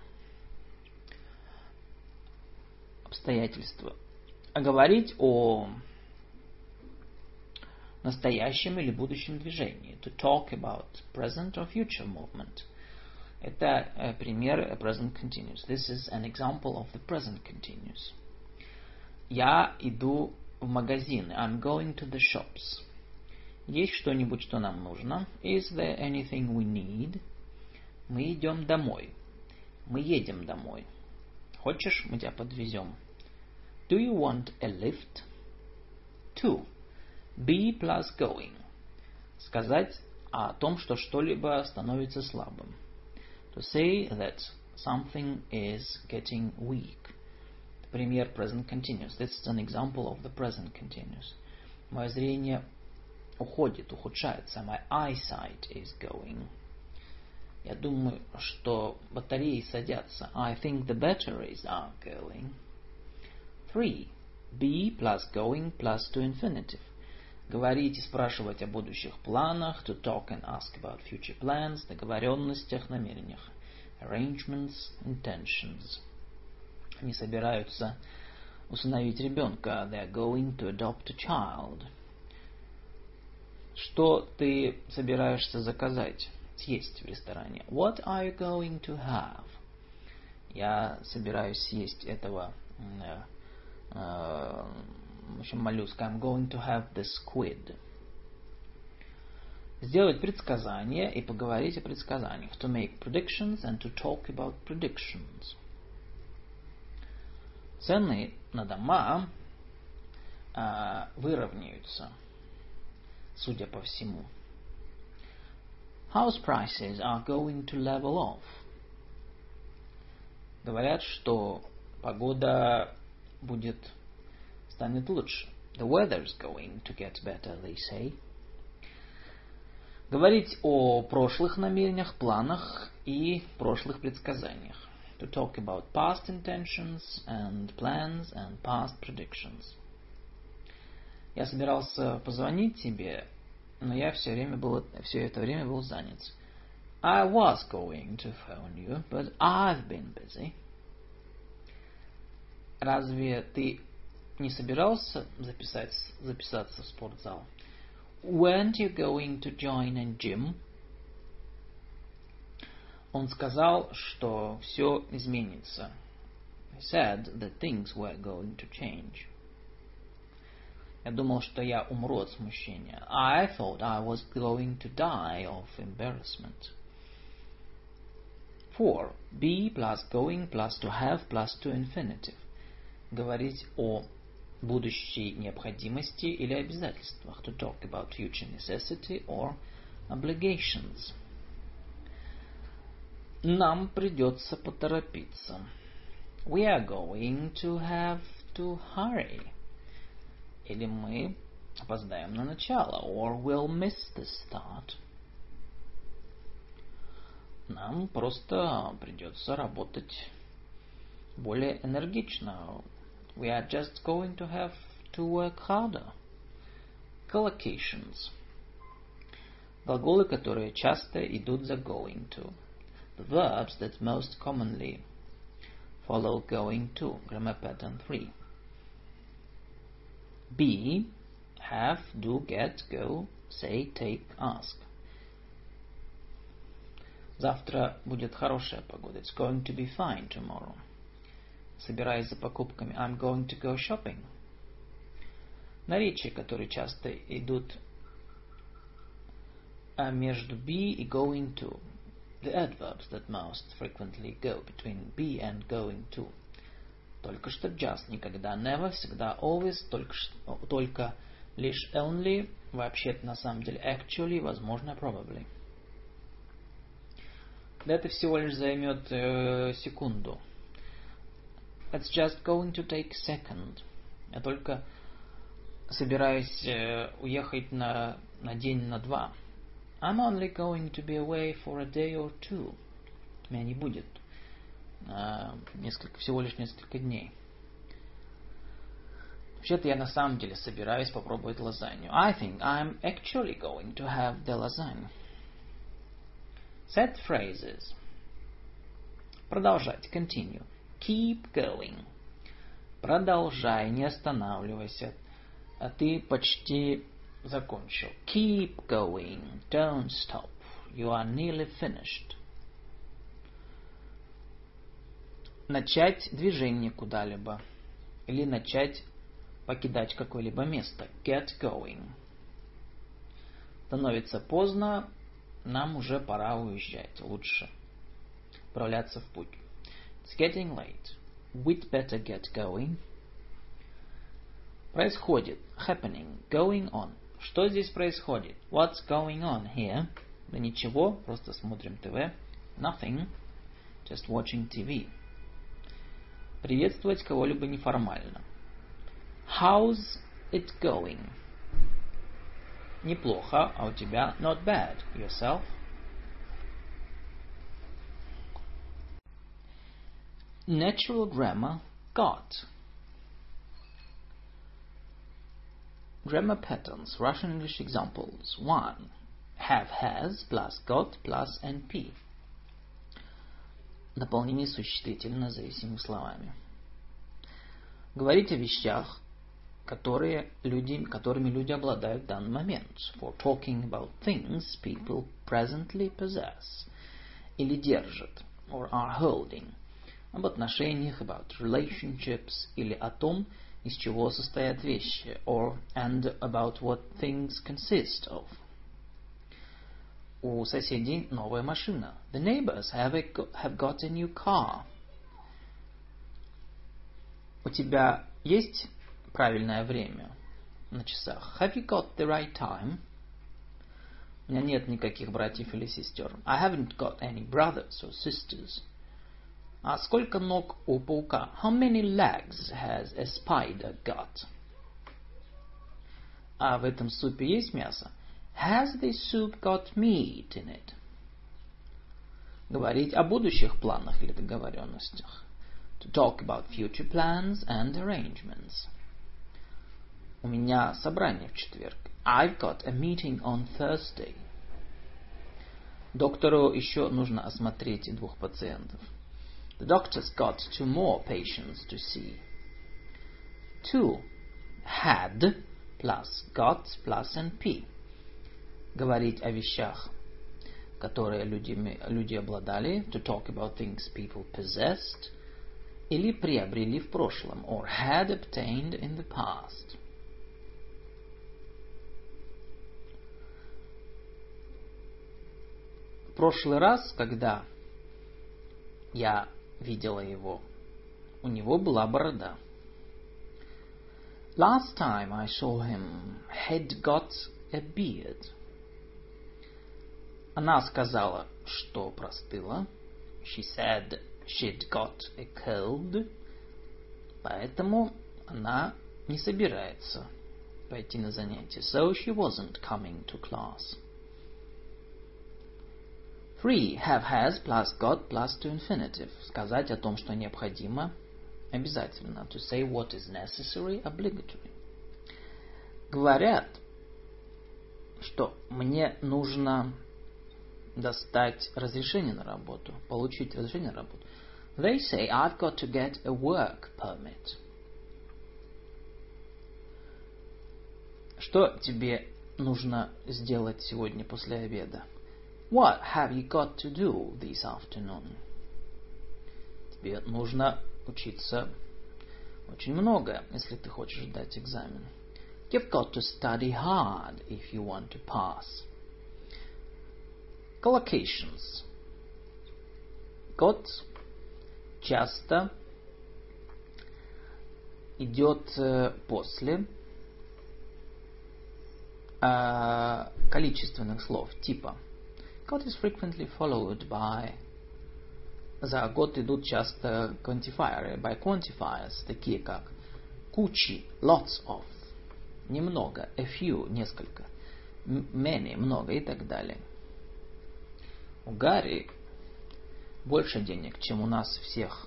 Обстоятельства. Говорить о настоящем или будущем движении. To talk about present or future movement. Это э, пример present continuous. This is an example of the present continuous. Я иду в магазины. I'm going to the shops. Есть что-нибудь, что нам нужно? Is there anything we need? Мы идем домой. Мы едем домой. Хочешь, мы тебя подвезем? Do you want a lift? Two. Be plus going. Сказать о том, что что-либо становится слабым. To say that something is getting weak. Пример present continuous. This is an example of the present continuous. Мое зрение уходит, ухудшается. My eyesight is going. Я думаю, что батареи садятся. I think the batteries are going. Three. Be plus going plus to infinitive. Говорить и спрашивать о будущих планах. To talk and ask about future plans. Договоренностях, намерениях. Arrangements, intentions. Они собираются усыновить ребенка. They are going to adopt a child. Что ты собираешься заказать, съесть в ресторане? What are you going to have? Я собираюсь съесть этого э, э, в общем, моллюска. I'm going to have the squid. Сделать предсказания и поговорить о предсказаниях. To make predictions and to talk about predictions. Цены на дома э, выровняются, судя по всему. House prices are going to level off. Говорят, что погода будет станет лучше. The weather's going to get better, they say. Говорить о прошлых намерениях, планах и прошлых предсказаниях. To talk about past intentions and plans and past predictions. Я собирался позвонить тебе, но я все время был, все это время был занят. I was going to phone you, but I've been busy. Разве ты не собирался записать, записаться в спортзал? Weren't you going to join a gym? Он сказал, что все изменится. He said that things were going to change. Я думал, что я умру от смущения. I thought I was going to die of embarrassment. Four. Be plus going plus to have plus to infinitive. Говорить о будущей необходимости или обязательствах. To talk about future necessity or obligations. Нам придется поторопиться. We are going to have to hurry. Или мы опоздаем на начало. Or we'll miss the start. Нам просто придется работать более энергично. We are just going to have to work harder. Collocations. Глаголы, которые часто идут за going to. The verbs that most commonly follow going to. Grammar pattern three. Be, have, do, get, go, say, take, ask. Завтра будет хорошая погода. It's going to be fine tomorrow. Собираясь за покупками. I'm going to go shopping. Наречия, которые часто идут между be и going to. The adverbs that most frequently go between be and going to. Только что just, никогда, never, всегда, always, только, только лишь only, вообще-то на самом деле actually, возможно, probably. Это всего лишь займет э, секунду. It's just going to take a second. Я только собираюсь э, уехать на, на день, на два. I'm only going to be away for a day or two. Меня не будет. Э, несколько, всего лишь несколько дней. Вообще-то я на самом деле собираюсь попробовать лазанью. I think I'm actually going to have the lasagna. Set phrases. Продолжать. Continue. Keep going. Продолжай, не останавливайся. А ты почти закончил. Keep going. Don't stop. You are nearly finished. Начать движение куда-либо. Или начать покидать какое-либо место. Get going. Становится поздно. Нам уже пора уезжать. Лучше отправляться в путь. It's getting late. We'd better get going. Происходит. Happening. Going on. Что здесь происходит? What's going on here? Да ничего, просто смотрим ТВ. Nothing. Just watching ти ви. Приветствовать кого-либо неформально. How's it going? Неплохо, а у тебя? Not bad. Yourself? Natural grammar. Got. Grammar patterns. Russian English examples. One. Have, has, plus got, plus N P. Дополнение существительно зависимыми словами. Говорить о вещах, которые люди, которыми люди обладают в данный момент. For talking about things people presently possess. Или держат. Or are holding. Об отношениях, about relationships. Или о том, из чего состоят вещи. Or and about what things consist of. У соседей новая машина. The neighbors have, a, have got a new car. У тебя есть правильное время на часах? Have you got the right time? У меня нет никаких братьев или сестер. I haven't got any brothers or sisters. А сколько ног у паука? How many legs has a spider got? А в этом супе есть мясо? Has this soup got meat in it? Говорить о будущих планах или договоренностях. To talk about future plans and arrangements. У меня собрание в четверг. I've got a meeting on Thursday. Доктору еще нужно осмотреть двух пациентов. The doctor's got two more patients to see. Two. had plus got plus N P. Говорить о вещах, которые люди, люди обладали, to talk about things people possessed, или приобрели в прошлом, or had obtained in the past. В прошлый раз, когда я видела его, у него была борода. Last time I saw him, he'd got a beard. Она сказала, что простыла. She said she'd got a cold. Поэтому она не собирается пойти на занятия. So she wasn't coming to class. Three. Have has plus got plus to infinitive. Сказать о том, что необходимо, обязательно. To say what is necessary, obligatory. Говорят, что мне нужно достать разрешение на работу, получить разрешение на работу. They say I've got to get a work permit. Что тебе нужно сделать сегодня после обеда? What have you got to do this afternoon? Тебе нужно учиться очень много, если ты хочешь сдать экзамен. You've got to study hard if you want to pass. Collocations. Got часто идет после э, количественных слов типа got is frequently followed by. За got идут часто quantifiers, by quantifiers, такие как кучи, lots of, немного, a few, несколько, many, много и так далее. У Гарри больше денег, чем у нас всех.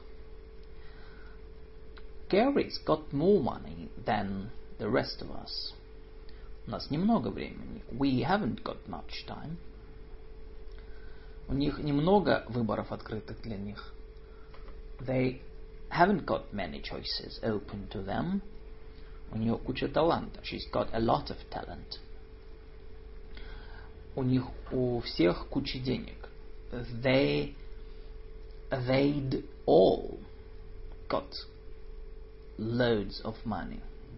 Gary's got more money than the rest of us. У нас немного времени. We haven't got much time. У них немного выборов открытых для них. They haven't got many choices open to them. У нее куча таланта. She's got a lot of talent. У них у всех куча денег. They, they'd all got loads of money.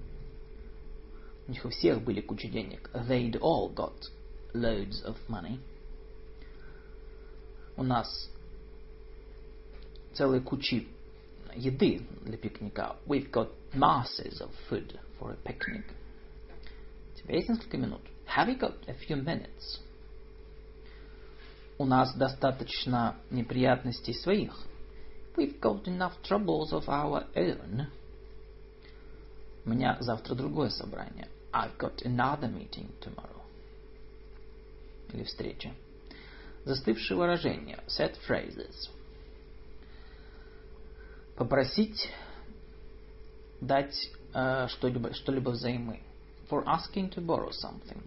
У них у всех были куча денег. They'd all got loads of money. У нас целые кучи еды для пикника. We've got masses of food for a picnic. У тебя есть несколько минут? Have you got a few minutes? У нас достаточно неприятностей своих. We've got enough troubles of our own. У меня завтра другое собрание. I've got another meeting tomorrow. Или встреча. Застывшие выражения. Set phrases. Попросить дать э, что-либо, что-либо взаймы. For asking to borrow something.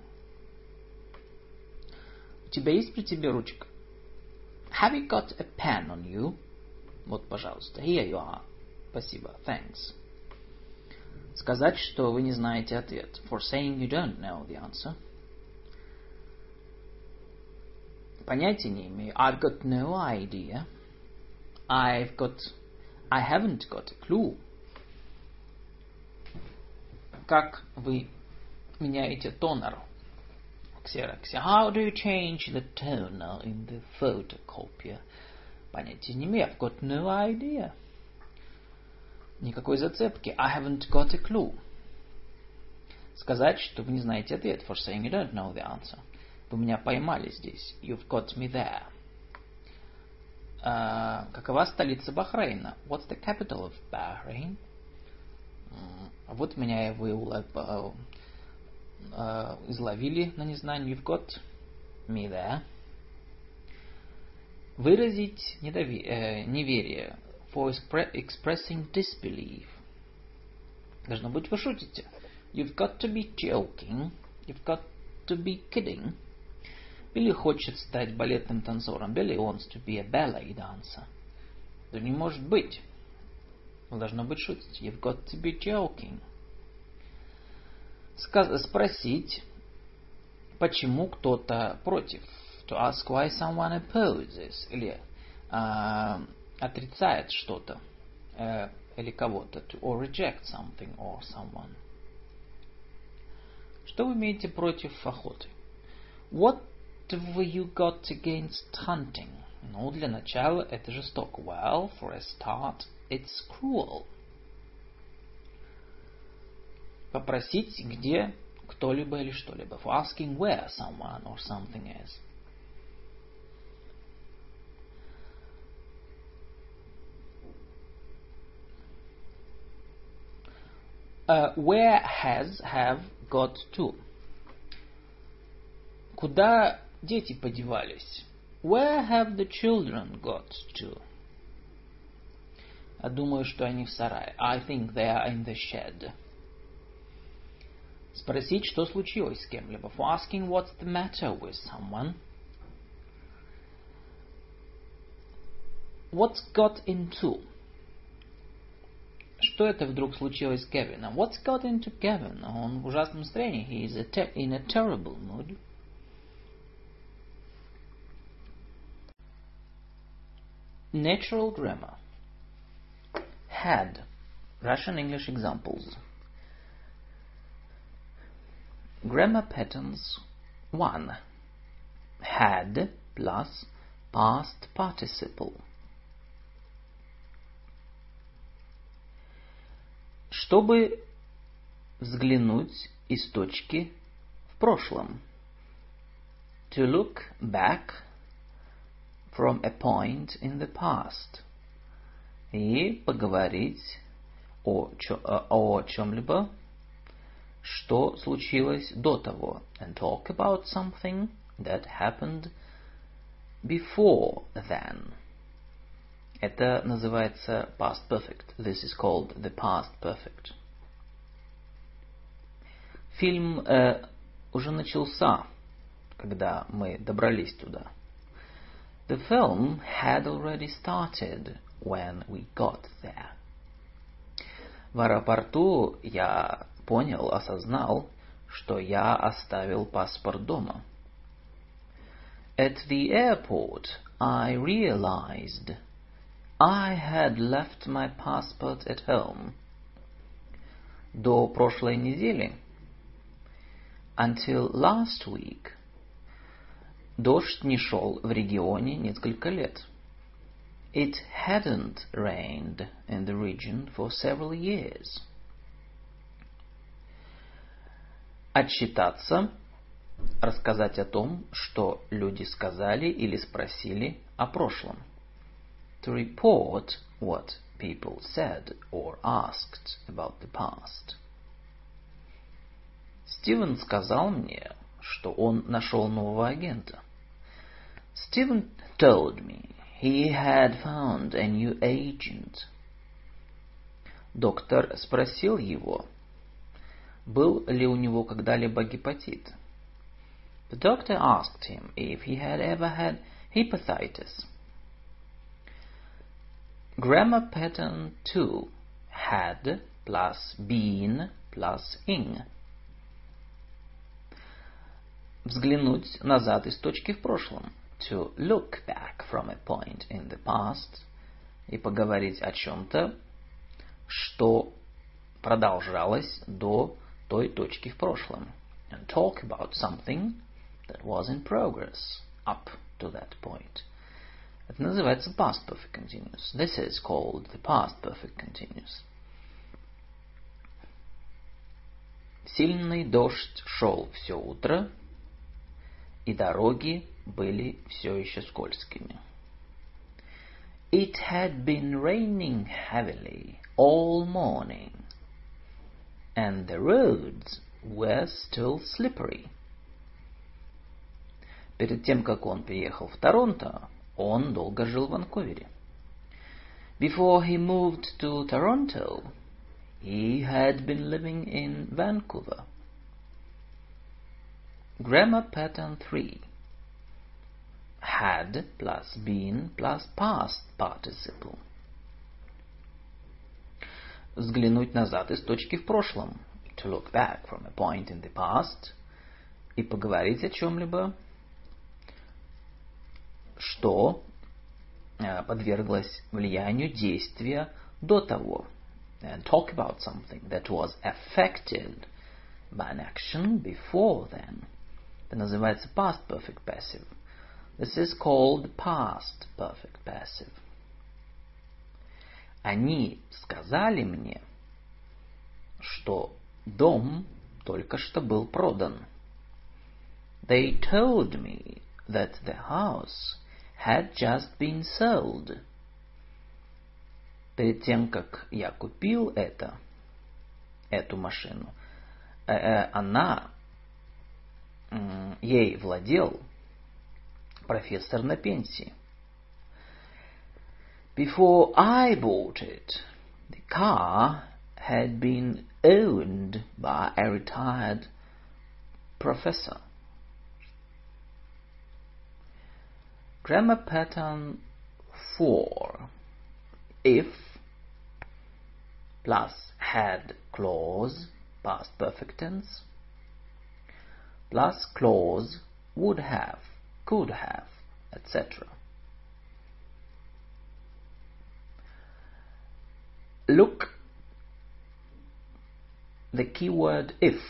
У тебя есть при тебе ручка? Have you got a pen on you? Вот, пожалуйста. Here you are. Спасибо. Thanks. Сказать, что вы не знаете ответ. For saying you don't know the answer. Понятия не имею. I've got no idea. I've got... I haven't got a clue. Как вы меняете тонер в ксероксе? How do you change the toner in the photocopier? Понятия не имею. I've got no idea. Никакой зацепки. I haven't got a clue. Сказать, что вы не знаете ответ. For saying you don't know the answer. Вы меня поймали здесь. You've got me there. Uh, какова столица Бахрейна? What's the capital of Bahrain? Uh, вот меня вы улов, uh, uh, изловили на незнании. You've got me there. Выразить недови- uh, неверие. For expre- expressing disbelief. Должно быть, вы шутите. You've got to be joking. You've got to be kidding. Билли хочет стать балетным танцором. Billy wants to be a ballet dancer. Да не может быть. Вы должно быть шутить. You've got to be joking. Спросить, почему кто-то против. To ask why someone opposes. Или э, отрицает что-то. Э, или кого-то. To or reject something or someone. Что вы имеете против охоты? What have you got against hunting? Ну, для начала это жестоко. Well, for a start, it's cruel. Попросить, где кто-либо или что-либо. For asking where someone or something is. Uh, where has, have, got to. Куда дети подевались? Where have the children got to? Я думаю, что они в сарае. I think they are in the shed. Спросить, что случилось с кем-либо. For asking what's the matter with someone. What's got into? Что это вдруг случилось с Кевином? What's got into Kevin? Он в ужасном настроении. He is a te- in a terrible mood. Natural grammar. Had. Russian English examples. Grammar patterns. one. Had plus past participle. Чтобы взглянуть из точки в прошлом. To look back from a point in the past. И поговорить о, чё, о чем-либо, что случилось до того. And talk about something that happened before then. Это называется past perfect. This is called the past perfect. Фильм э, уже начался, когда мы добрались туда. The film had already started when we got there. В аэропорту я понял, осознал, что я оставил паспорт дома. At the airport, I realized I had left my passport at home. До прошлой недели. Until last week. Дождь не шел в регионе несколько лет. It hadn't rained in the region for several years. Отчитаться, рассказать о том, что люди сказали или спросили о прошлом. To report what people said or asked about the past. Стивен сказал мне, что он нашел нового агента. Steven told me he had found a new agent. Доктор спросил его, был ли у него когда-либо гепатит. The doctor asked him if he had ever had hepatitis. Grammar pattern two. Had plus been plus ing. Взглянуть назад из точки в прошлом. To look back from a point in the past. И поговорить о чем-то, что продолжалось до той точки в прошлом. And talk about something that was in progress up to that point. Это называется past perfect continuous. This is called the past perfect continuous. Сильный дождь шел все утро, и дороги были все еще скользкими. It had been raining heavily all morning, and the roads were still slippery. Перед тем, как он переехал в Торонто, он долго жил в Ванкувере. Before he moved to Toronto, he had been living in Vancouver. Grammar pattern three. Had plus been plus past participle. Взглянуть назад из точки в прошлом. to look back from a point in the past и поговорить о чем-либо, что подверглось влиянию действия до того. And talk about something that was affected by an action before then. Это называется past perfect passive. This is called past perfect passive. Они сказали мне, что дом только что был продан. They told me that the house had just been sold. Перед тем, как я купил это, эту машину, э, э, она, э, ей владел профессор на пенсии. Before I bought it, the car had been owned by a retired professor. Grammar pattern four. If plus had clause, past perfect tense, plus clause would have, could have, et cetera. Look the keyword if.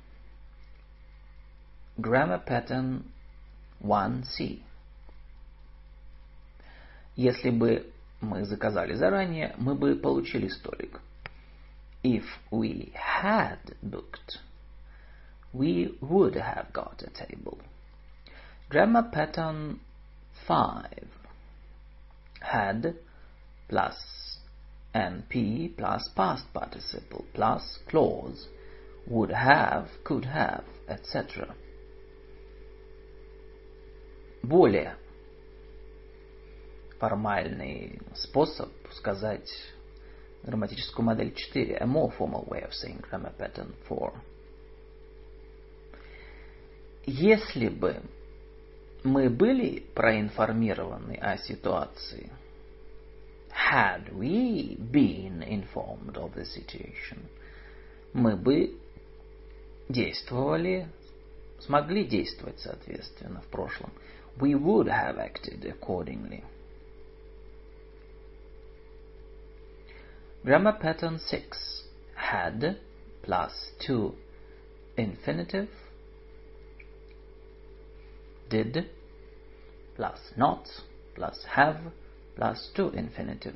Grammar pattern one C. Если бы мы заказали заранее, мы бы получили столик. If we had booked, we would have got a table. Grammar pattern five. Had plus N P plus past participle plus clause would have, could have, et cetera. Более формальный способ сказать грамматическую модель четыре. A more formal way of saying grammar pattern four. Если бы мы были проинформированы о ситуации, had we been informed of the situation, мы бы действовали, смогли действовать соответственно в прошлом. We would have acted accordingly. Grammar pattern six. Had plus to infinitive. Did plus not plus have plus to infinitive.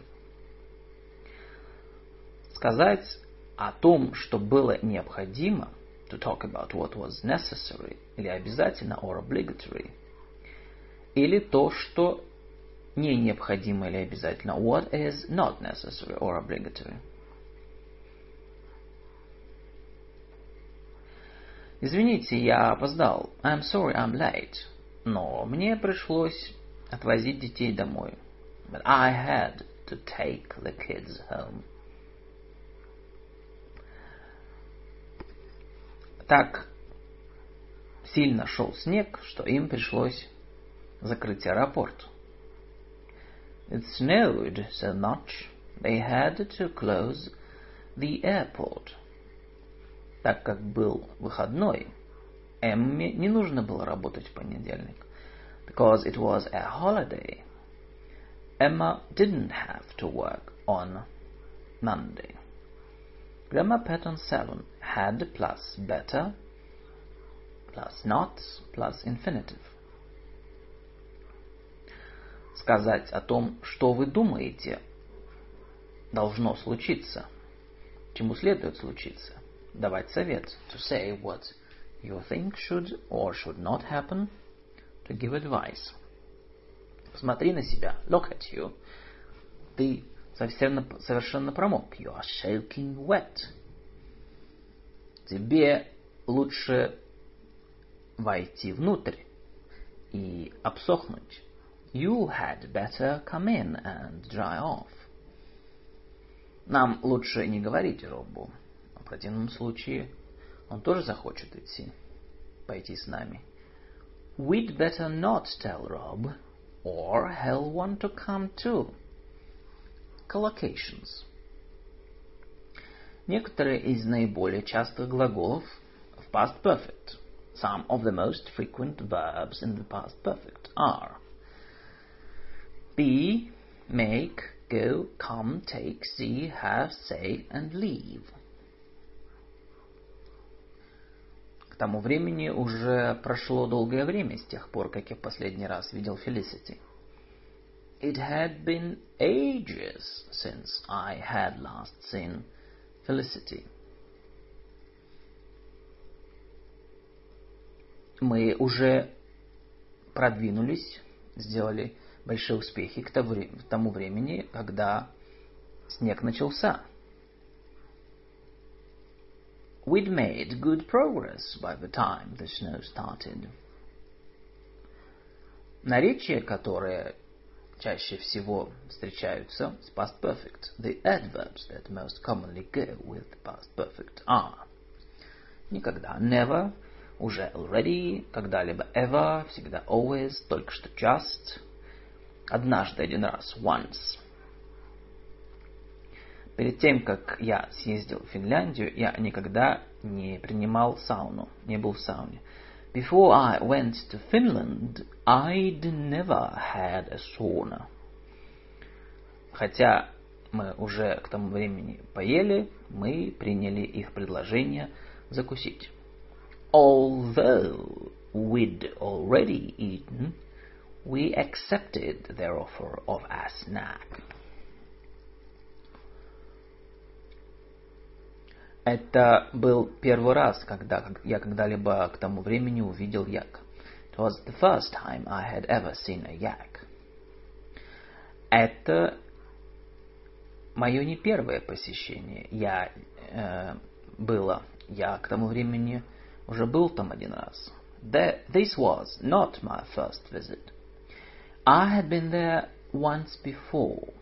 Сказать о том, что было необходимо, to talk about what was necessary, или обязательно, or obligatory, или то, что не необходимо или обязательно, what is not necessary or obligatory. Извините, я опоздал. I'm sorry, I'm late. Но мне пришлось отвозить детей домой. But I had to take the kids home. Так сильно шел снег, что им пришлось закрыть аэропорт. It snowed so much they had to close the airport. Так как был выходной, Эмме не нужно было работать в понедельник. Because it was a holiday, Emma didn't have to work on Monday. Grammar pattern seven. Had plus better plus not plus infinitive. Сказать о том, что вы думаете, должно случиться, чему следует случиться. Давать совет. To say what you think should or should not happen. To give advice. Посмотри на себя. Look at you. Ты совершенно, совершенно промок. You are soaking wet. Тебе лучше войти внутрь и обсохнуть. You had better come in and dry off. Нам лучше не говорить Робу. В противном случае он тоже захочет идти, пойти с нами. We'd better not tell Rob, or he'll want to come too. Collocations. Некоторые из наиболее частых глаголов в past perfect. Some of the most frequent verbs in the past perfect are be, make, go, come, take, see, have, say, and leave. К тому времени уже прошло долгое время с тех пор, как я в последний раз видел Felicity. It had been ages since I had last seen Felicity. Мы уже продвинулись, сделали большие успехи к тому времени, когда снег начался. We'd made good progress by the time the snow started. Наречия, которые чаще всего встречаются с past perfect, the adverbs that most commonly go with the past perfect are никогда, never, уже already, когда-либо ever, всегда always, только что just, однажды, один раз, once. Перед тем, как я съездил в Финляндию, я никогда не принимал сауну, не был в сауне. Before I went to Finland, I'd never had a sauna. Хотя мы уже к тому времени поели, мы приняли их предложение закусить. Although we'd already eaten, we accepted their offer of a snack. Это был первый раз, когда я когда-либо к тому времени увидел як. It was the first time I had ever seen a yak. Это мое не первое посещение. Я э, было, я к тому времени уже был там один раз. That, this was not my first visit. I had been there once before.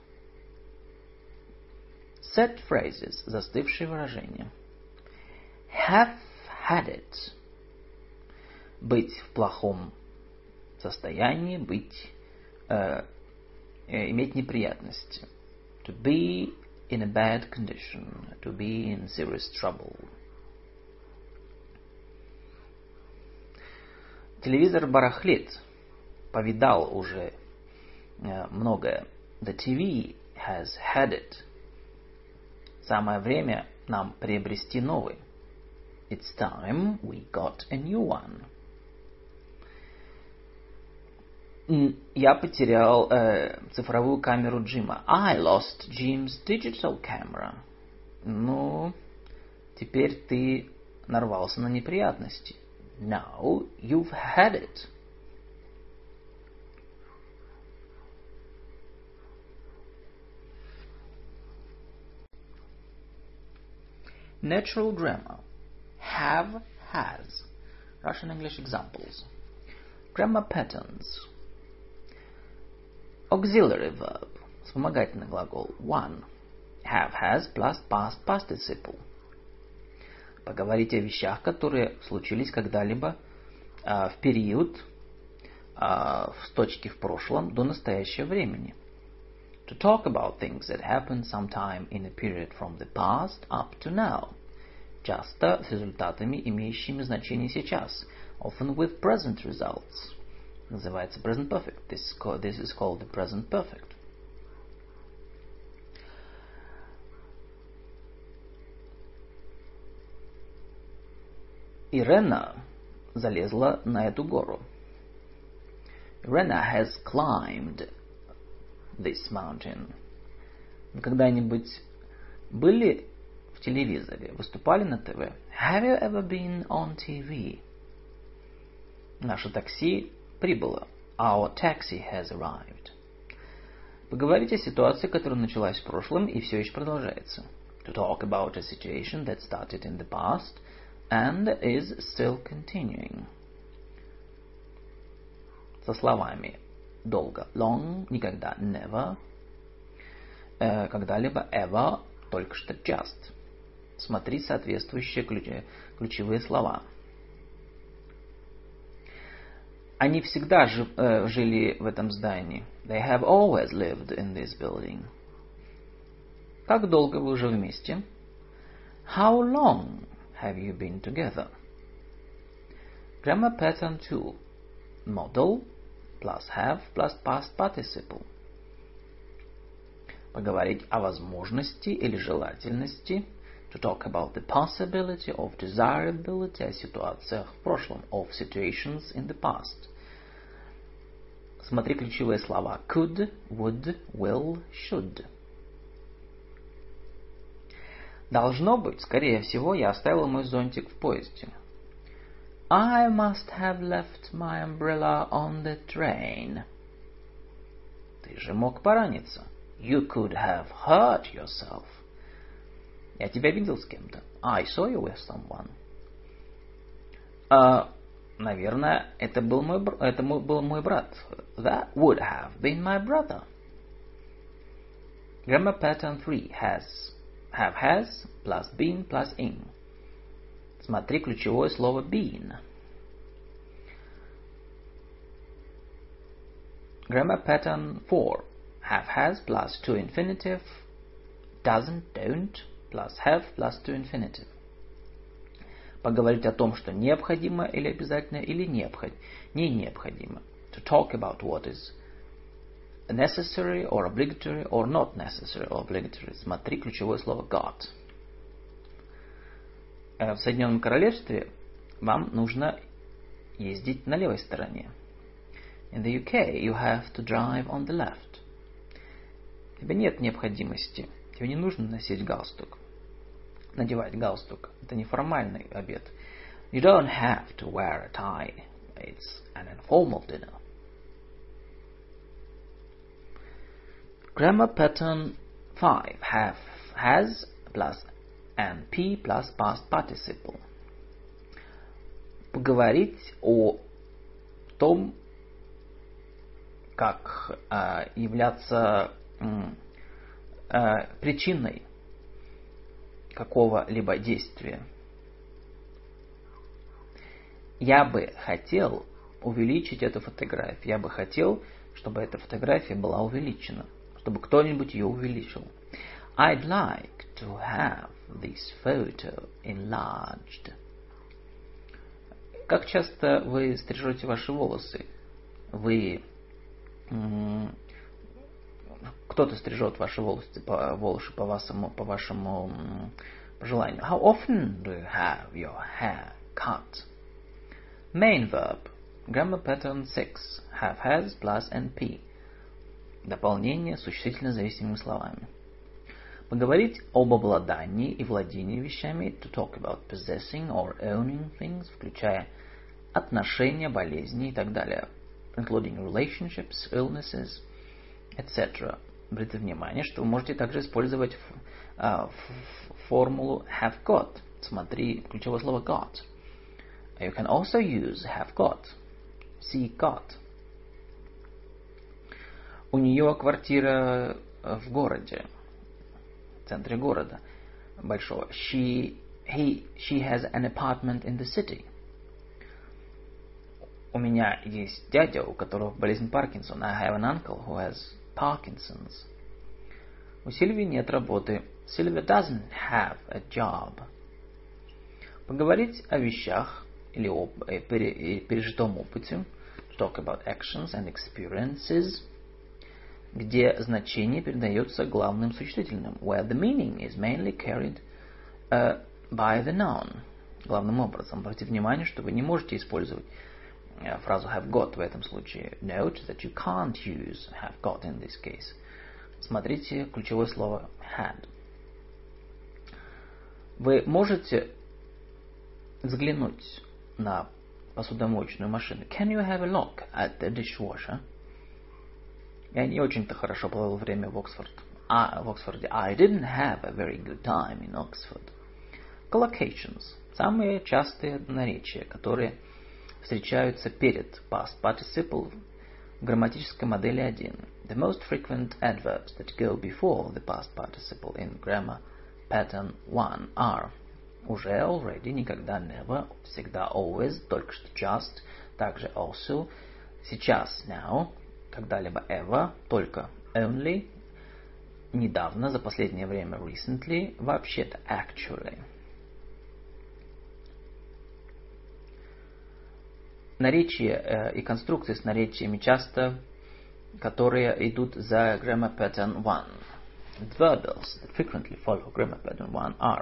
Set phrases, застывшие выражения. Have had it. Быть в плохом состоянии, быть, э, э, иметь неприятности. To be in a bad condition. To be in serious trouble. Телевизор барахлит. Повидал уже э, многое. The ти ви has had it. Самое время нам приобрести новый. It's time we got a new one. Я потерял э, цифровую камеру Джима. I lost Jim's digital camera. Ну, теперь ты нарвался на неприятности. Now you've had it. Natural grammar. Have, has. Russian English examples. Grammar patterns. Auxiliary verb. Вспомогательный глагол. One. Have, has plus past participle. Поговорить о вещах, которые случились когда-либо э, в период э, с точки в прошлом до настоящего времени. To talk about things that happened sometime in a period from the past up to now. Часто с результатами, имеющими значение сейчас. Often with present results. Называется present perfect. This is called, this is called the present perfect. Ирена залезла на эту гору. Irena has climbed this mountain. Вы когда-нибудь были в телевизоре, выступали на ТВ? Have you ever been on ти ви? Наше такси прибыло. Our taxi has arrived. Поговорите о ситуации, которая началась в прошлом и все еще продолжается. To talk about a situation that started in the past and is still continuing. Со словами долго, long, никогда, never, э, когда-либо, ever, только что, just. Смотри соответствующие ключ- ключевые слова. Они всегда жи- э, жили в этом здании. They have always lived in this building. Как долго вы уже вместе? How long have you been together? Grammar pattern two. Modal plus have plus past participle. Поговорить о возможности или желательности. To talk about the possibility of desirability, о ситуациях в прошлом, of situations in the past. Смотри ключевые слова could, would, will, should. Должно быть, скорее всего, я оставил мой зонтик в поезде. I must have left my umbrella on the train. Ты же мог пораниться. You could have hurt yourself. Я тебя видел с кем-то. I saw you with someone. Uh, наверное, это был мой, это был мой брат. That would have been my brother. Grammar pattern three. Has. Have has plus been plus in. Смотри ключевое слово been. Grammar pattern four. Have has plus to infinitive. Doesn't, don't plus have plus to infinitive. Поговорить о том, что необходимо или обязательно, или необход... не необходимо. To talk about what is necessary or obligatory or not necessary or obligatory. Смотри ключевое слово got. В Соединенном Королевстве вам нужно ездить на левой стороне. In the U K you have to drive on the left. Тебе нет необходимости. Тебе не нужно носить галстук. Надевать галстук. Это неформальный обед. You don't have to wear a tie. It's an informal dinner. Grammar pattern five. Have, has plus and P plus past participle. Поговорить о том, как э, являться э, причиной какого-либо действия. Я бы хотел увеличить эту фотографию. Я бы хотел, чтобы эта фотография была увеличена. Чтобы кто-нибудь ее увеличил. I'd like to have this photo enlarged. Как часто вы стрижете ваши волосы? Вы... М- кто-то стрижет ваши волосы по, волосы по вашему, по вашему м- желанию. How often do you have your hair cut? Main verb. Grammar pattern six. Have, has, plus and P. Дополнение существительно зависимыми словами. Поговорить об обладании и владении вещами. To talk about possessing or owning things, включая отношения, болезни и так далее. Including relationships, illnesses, et cetera. Обратите внимание, что вы можете также использовать uh, формулу have got. Смотри ключевое слово got. You can also use have got. See got. У нее квартира в городе, в центре города большого. She, he, she has an apartment in the city. У меня есть дядя, у которого болезнь Паркинсона. I have an uncle who has Parkinson's. У Сильвии нет работы. Sylvia doesn't have a job. Поговорить о вещах или о пережитом опыте. To talk about actions and experiences. Где значение передается главным существительным. Where the meaning is mainly carried uh, by the noun. Главным образом. Обратите внимание, что вы не можете использовать uh, фразу have got в этом случае. Note that you can't use have got in this case. Смотрите ключевое слово had. Вы можете взглянуть на посудомоечную машину. Can you have a look at the dishwasher? Я не очень-то хорошо провел время в Оксфорд. А, в Оксфорде. I didn't have a very good time in Oxford. Collocations. Самые частые наречия, которые встречаются перед past participle в грамматической модели один. The most frequent adverbs that go before the past participle in grammar pattern one are уже, already, никогда, never, всегда, always, только что, just, также also, сейчас, now, когда-либо ever, только only, недавно, за последнее время recently, вообще-то actually. наречия и конструкции с наречиями часто, которые идут за grammar pattern one. The verbals that frequently follow grammar pattern one are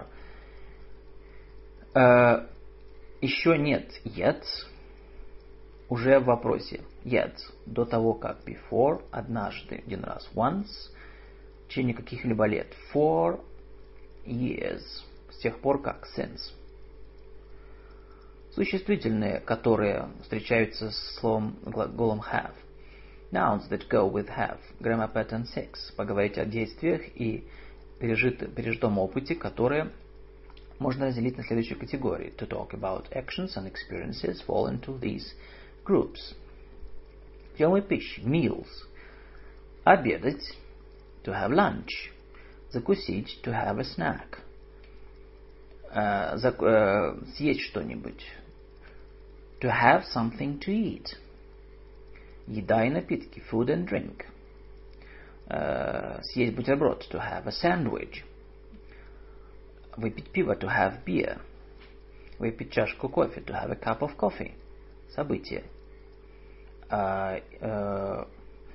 uh, еще нет, yet, уже в вопросе yet, до того как before, однажды, один раз, once, в течение каких-либо лет, for years, с тех пор как, since. Существительные, которые встречаются с словом глаголом have. Nouns that go with have. Grammar pattern six. Поговорить о действиях и пережит, пережитом опыте, которые можно разделить на следующие категории. To talk about actions and experiences fall into these groups. Приемы пищи. Meals. Обедать. To have lunch. Закусить. To have a snack. Uh, зак, uh, съесть что-нибудь. To have something to eat. Еда и напитки. Food and drink. Uh, съесть бутерброд. To have a sandwich. Выпить пиво. To have beer. Выпить чашку кофе. To have a cup of coffee. Событие. Uh, uh,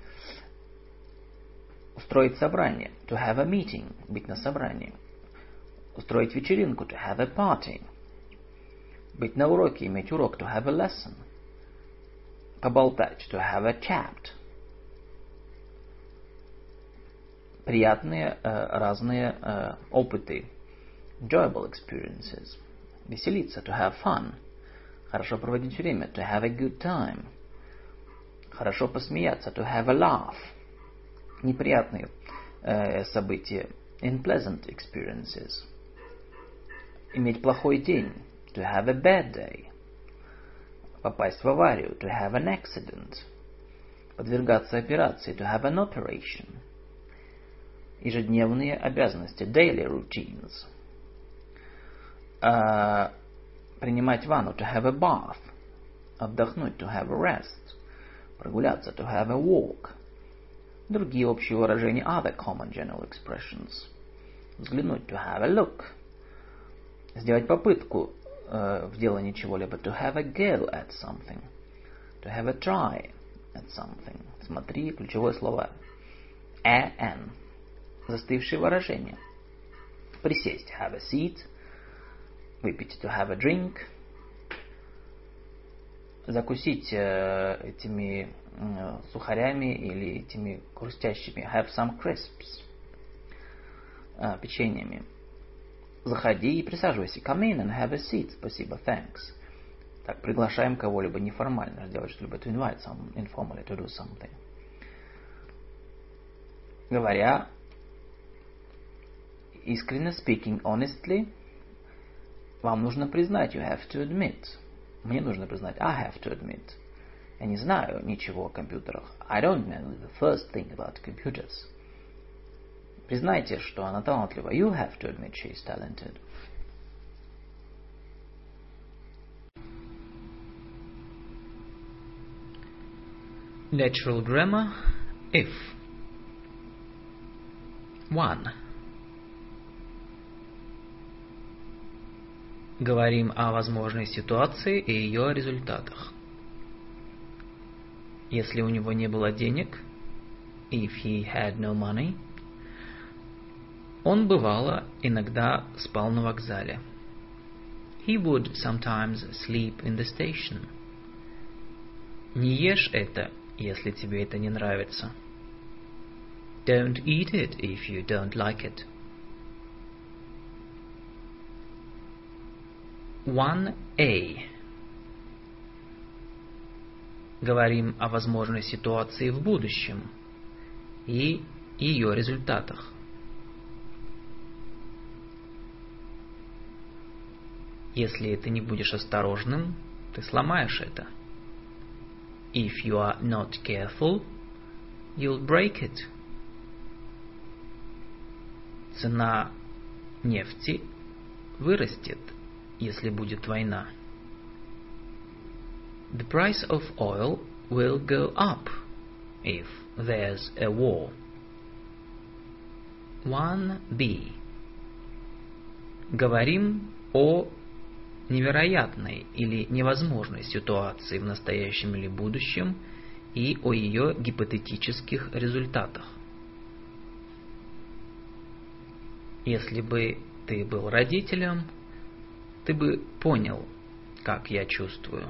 устроить собрание. To have a meeting. Быть на собрании. Устроить вечеринку. To have a party. Быть на уроке. Иметь урок. To have a lesson. Поболтать. To have a chat. Приятные uh, разные uh, опыты. Enjoyable experiences. Веселиться. To have fun. Хорошо проводить время. To have a good time. Хорошо посмеяться. To have a laugh. Неприятные uh, события. Unpleasant experiences. Иметь плохой день. To have a bad day. Попасть в аварию. To have an accident. Подвергаться операции. To have an operation. Ежедневные обязанности. Daily routines. Uh, принимать ванну. To have a bath. Отдохнуть. To have a rest. Прогуляться. To have a walk. Другие общие выражения. Other common general expressions. Взглянуть. To have a look. Сделать попытку uh, в делании чего-либо. To have a go at something. To have a try at something. Смотри, ключевое слово an. Застывшие выражения. Присесть. Have a seat. Выпить. To have a drink. Закусить uh, этими uh, сухарями или этими хрустящими. Have some crisps. Uh, печеньями. Заходи и присаживайся. Come in and have a seat. Спасибо. Thanks. Так, приглашаем кого-либо неформально сделать что-либо. To invite someone informally to do something. Говоря искренне, speaking honestly, вам нужно признать. You have to admit. Мне нужно признать. I have to admit. Я не знаю ничего о компьютерах. I don't know the first thing about computers. Признайте, что она талантлива. You have to admit she is talented. Natural grammar. If. One. Говорим о возможной ситуации и ее результатах. Если у него не было денег, if he had no money, он бывало иногда спал на вокзале. He would sometimes sleep in the station. Не ешь это, если тебе это не нравится. Don't eat it if you don't like it. one A. Говорим о возможной ситуации в будущем и ее результатах. Если ты не будешь осторожным, ты сломаешь это. If you are not careful, you'll break it. Цена нефти вырастет, если будет война. The price of oil will go up if there's a war. one B. Говорим о невероятной или невозможной ситуации в настоящем или будущем и о ее гипотетических результатах. Если бы ты был родителем, ты бы понял, как я чувствую.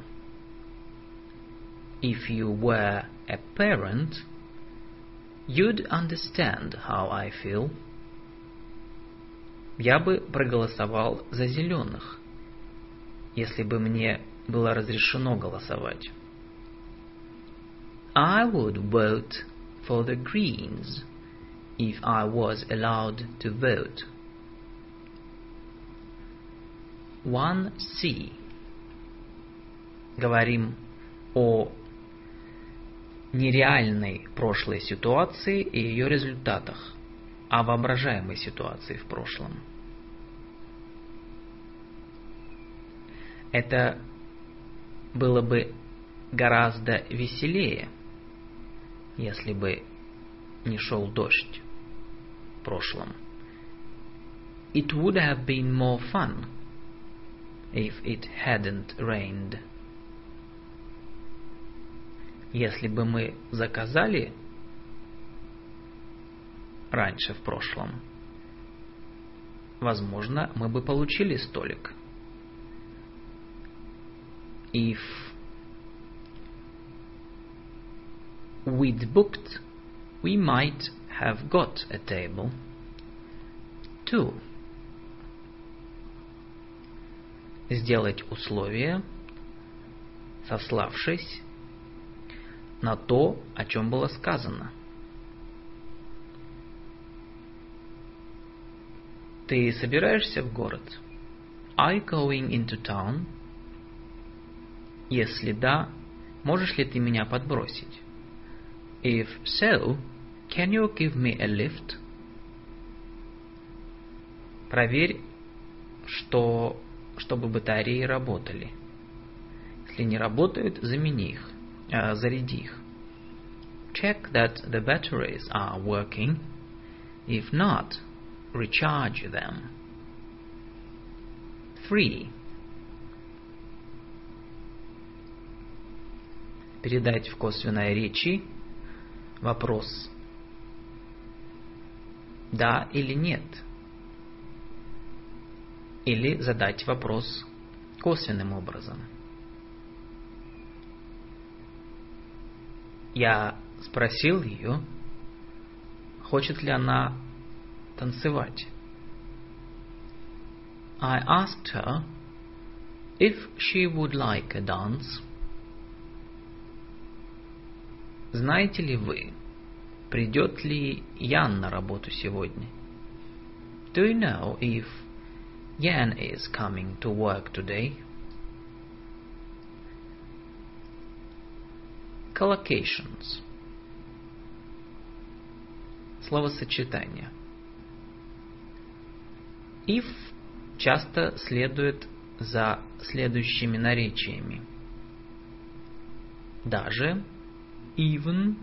If you were a parent, you'd understand how I feel. Я бы проголосовал за зеленых, если бы мне было разрешено голосовать. I would vote for the Greens if I was allowed to vote. one си. Говорим о нереальной прошлой ситуации и ее результатах, о воображаемой ситуации в прошлом. Это было бы гораздо веселее, если бы не шел дождь в прошлом. It would have been more fun if it hadn't rained. Если бы мы заказали раньше в прошлом, возможно, мы бы получили столик. If we'd booked, we might have got a table. two. Сделать условие, сославшись на то, о чем было сказано. Ты собираешься в город? Are you going into town? Если да, можешь ли ты меня подбросить? If so, can you give me a lift? Проверь, что, чтобы батареи работали. Если не работают, замени их, э, заряди их. Check that the batteries are working. If not, recharge them. three. Передать в косвенной речи вопрос «да» или «нет». Или задать вопрос косвенным образом. Я спросил ее, хочет ли она танцевать. I asked her if she would like a dance. Знаете ли вы, придет ли Ян на работу сегодня? Do you know if Jan is coming to work today? Collocations. Словосочетание. If часто следует за следующими наречиями. Даже, even,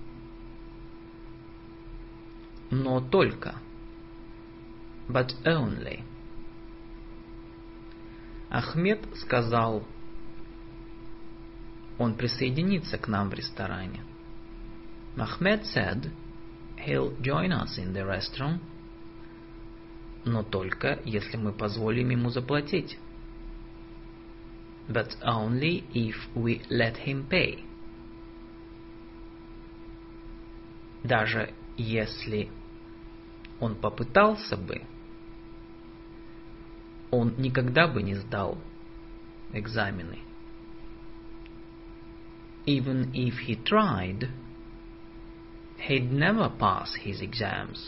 но только, but only. Ахмед сказал, он присоединится к нам в ресторане. Ahmed said, he'll join us in the restaurant, но только если мы позволим ему заплатить. But only if we let him pay. Даже если он попытался бы, он никогда бы не сдал экзамены. Even if he tried, he'd never pass his exams.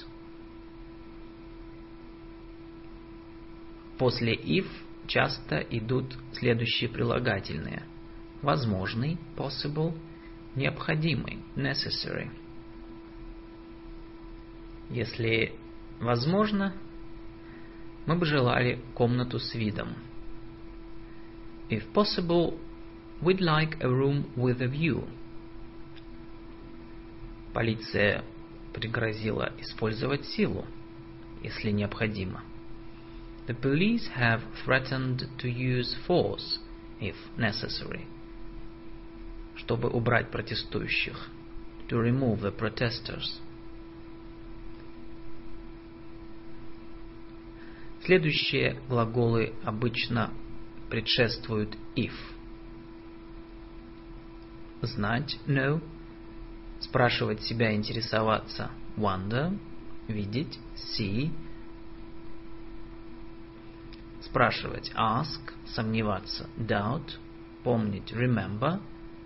После if часто идут следующие прилагательные. Возможный, possible, необходимый, necessary. Если возможно, мы бы желали комнату с видом. If possible, we'd like a room with a view. Полиция пригрозила использовать силу, если необходимо. The police have threatened to use force, if necessary, чтобы убрать протестующих, to remove the protesters. Следующие глаголы обычно предшествуют if. Знать, know. Спрашивать себя, интересоваться, wonder. Видеть, see. Спрашивать, ask. Сомневаться, doubt. Помнить, remember.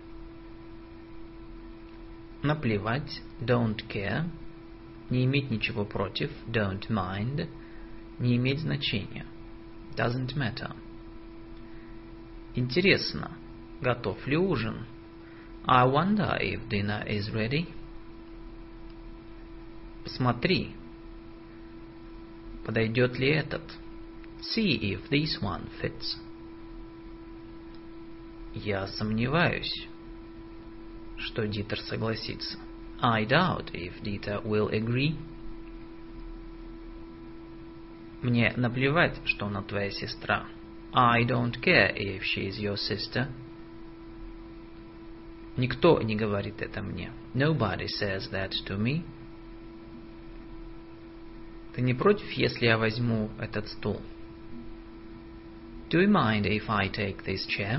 Наплевать, don't care. Не иметь ничего против, don't mind. Не иметь значения, doesn't matter. Интересно, готов ли ужин? I wonder if dinner is ready. Посмотри, подойдет ли этот? See if this one fits. Я сомневаюсь, что Дитер согласится. I doubt if Dieter will agree. Мне наплевать, что она твоя сестра. I don't care if she is your sister. Никто не говорит это мне. Nobody says that to me. Ты не против, если я возьму этот стул? Do you mind if I take this chair?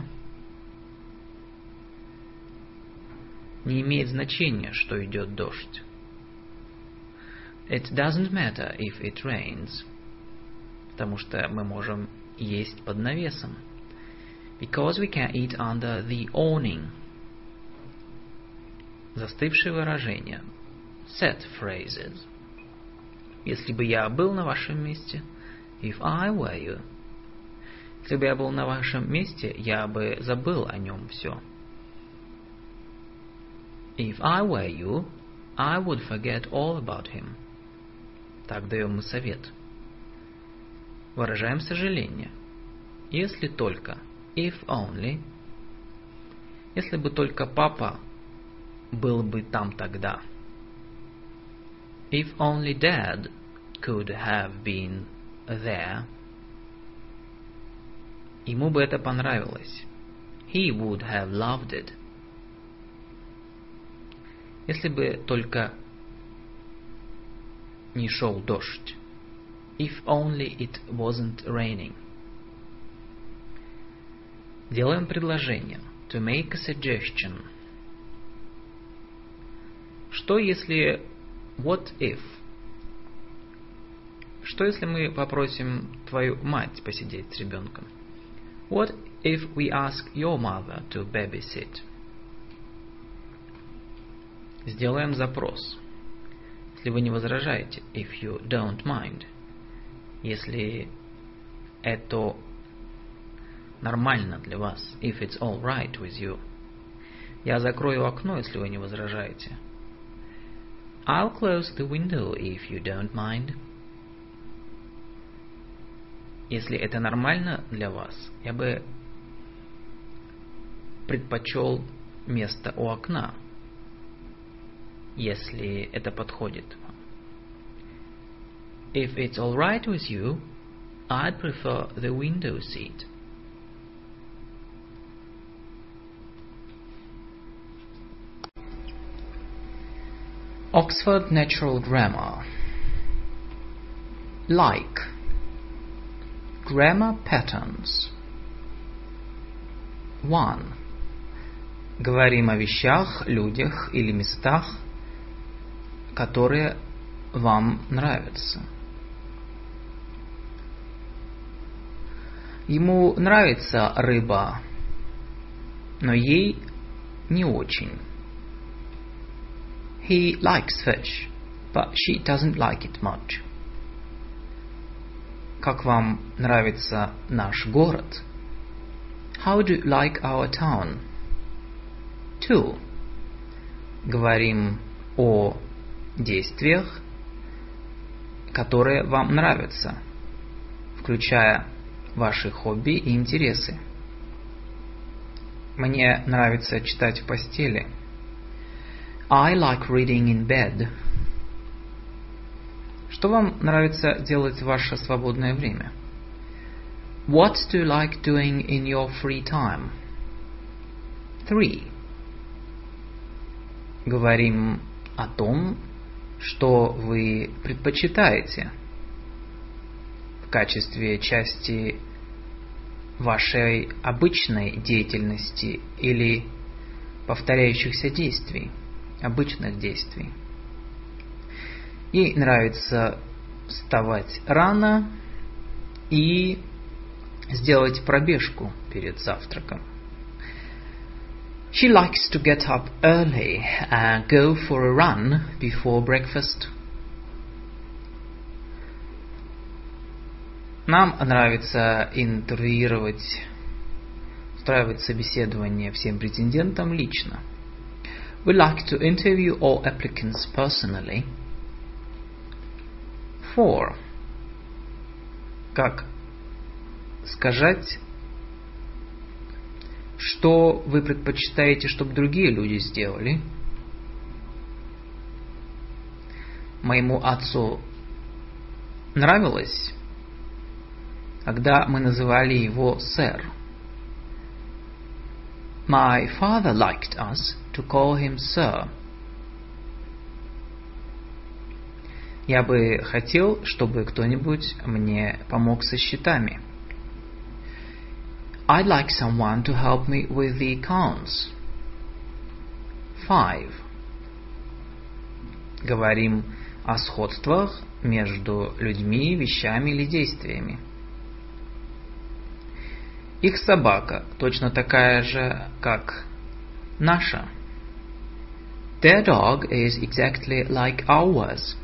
Не имеет значения, что идет дождь. It doesn't matter if it rains. Потому что мы можем есть под навесом. Because we can eat under the awning. Застывшие выражения. Set phrases. Если бы я был на вашем месте, if I were you. Если бы я был на вашем месте, я бы забыл о нем все. If I were you, I would forget all about him. Так даем мы совет. Выражаем сожаление. Если только, if only. Если бы только папа был бы там тогда. If only Dad could have been there. Ему бы это понравилось. He would have loved it. Если бы только не шел дождь. If only it wasn't raining. Делаем предложение. To make a suggestion. Что если... What if? Что если мы попросим твою мать посидеть с ребенком? What if we ask your mother to babysit? Сделаем запрос. Если вы не возражаете. If you don't mind. Если это нормально для вас. If it's all right with you. Я закрою окно, если вы не возражаете. I'll close the window if you don't mind. Если это нормально для вас, я бы предпочел место у окна, если это подходит вам. If it's all right with you, I'd prefer the window seat. Oxford Natural Grammar. Like. Grammar patterns. one. Говорим о вещах, людях или местах, которые вам нравятся. Ему нравится рыба, но ей не очень. He likes fish, but she doesn't like it much. Как вам нравится наш город? How do you like our town? two. Говорим о действиях, которые вам нравятся, включая ваши хобби и интересы. Мне нравится читать в постели. I like reading in bed. Что вам нравится делать в ваше свободное время? What do you like doing in your free time? Three. Говорим о том, что вы предпочитаете в качестве части вашей обычной деятельности или повторяющихся действий, обычных действий. Ей нравится вставать рано и сделать пробежку перед завтраком. She likes to get up early and go for a run before breakfast. Нам нравится интервьюировать, устраивать собеседование всем претендентам лично. We like to interview all applicants personally. Four. Как сказать, что вы предпочитаете, чтобы другие люди сделали? Моему отцу нравилось, когда мы называли его сэр. My father liked us to call him sir. Я бы хотел, чтобы кто-нибудь мне помог со счетами. I'd like someone to help me with the accounts. Five. Говорим о сходствах между людьми, вещами или действиями. Их собака точно такая же, как наша. Their dog is exactly like ours.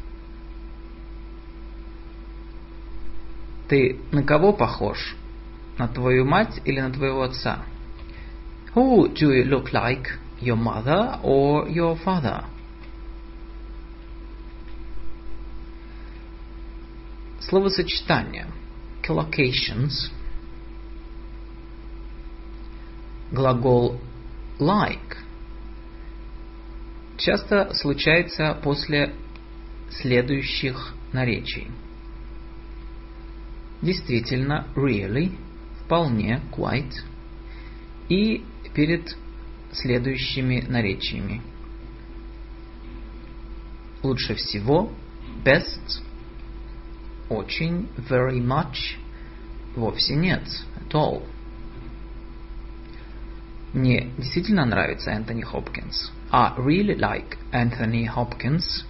Ты на кого похож? На твою мать или на твоего отца? Who do you look like? Your mother or your father? Словосочетание. Collocations. Глагол like часто случается после следующих наречий. Действительно, really, вполне, quite, и перед следующими наречиями. Лучше всего, best, очень, very much, вовсе нет, at all. Мне действительно нравится Энтони Хопкинс. I really like Anthony Hopkins.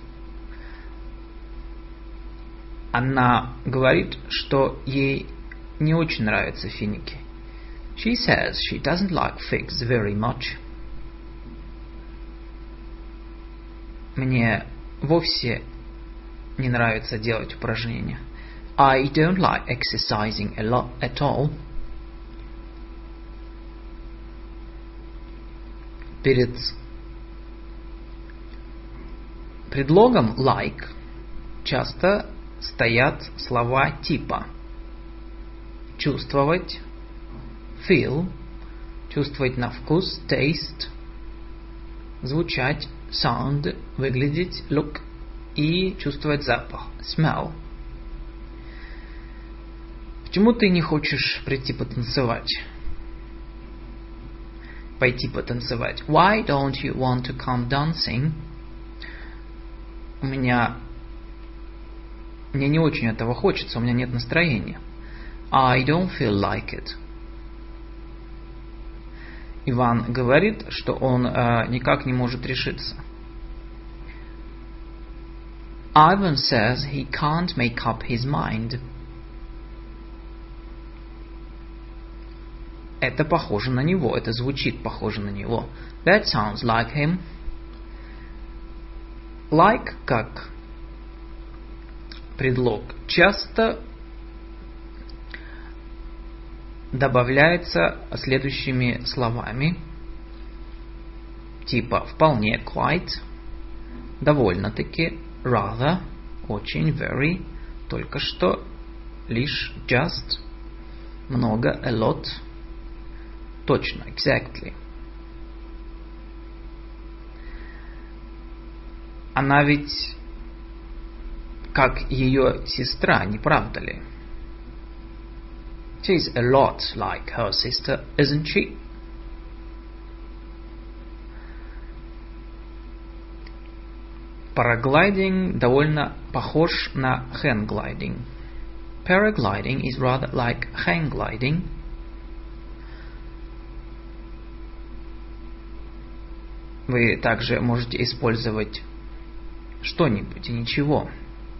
Она говорит, что ей не очень нравятся финики. She says she doesn't like figs very much. Мне вовсе не нравится делать упражнения. I don't like exercising a lot at all. Перед предлогом like часто стоят слова типа чувствовать, feel, чувствовать на вкус, taste, звучать, sound, выглядеть, look и чувствовать запах, smell. Почему ты не хочешь прийти потанцевать? Пойти потанцевать. Why don't you want to come dancing? У меня мне не очень этого хочется, у меня нет настроения. I don't feel like it. Иван говорит, что он э, никак не может решиться. Ivan says he can't make up his mind. Это похоже на него, это звучит похоже на него. That sounds like him. Like как предлог часто добавляется следующими словами, типа вполне, quite, довольно-таки, rather, очень, very, только что, лишь, just, много, a lot, точно, exactly. Она ведь как ее сестра, не правда ли? She's a lot like her sister, isn't she? Paragliding довольно похож на hang-gliding. Paragliding is rather like hang gliding. Вы также можете использовать что-нибудь и ничего.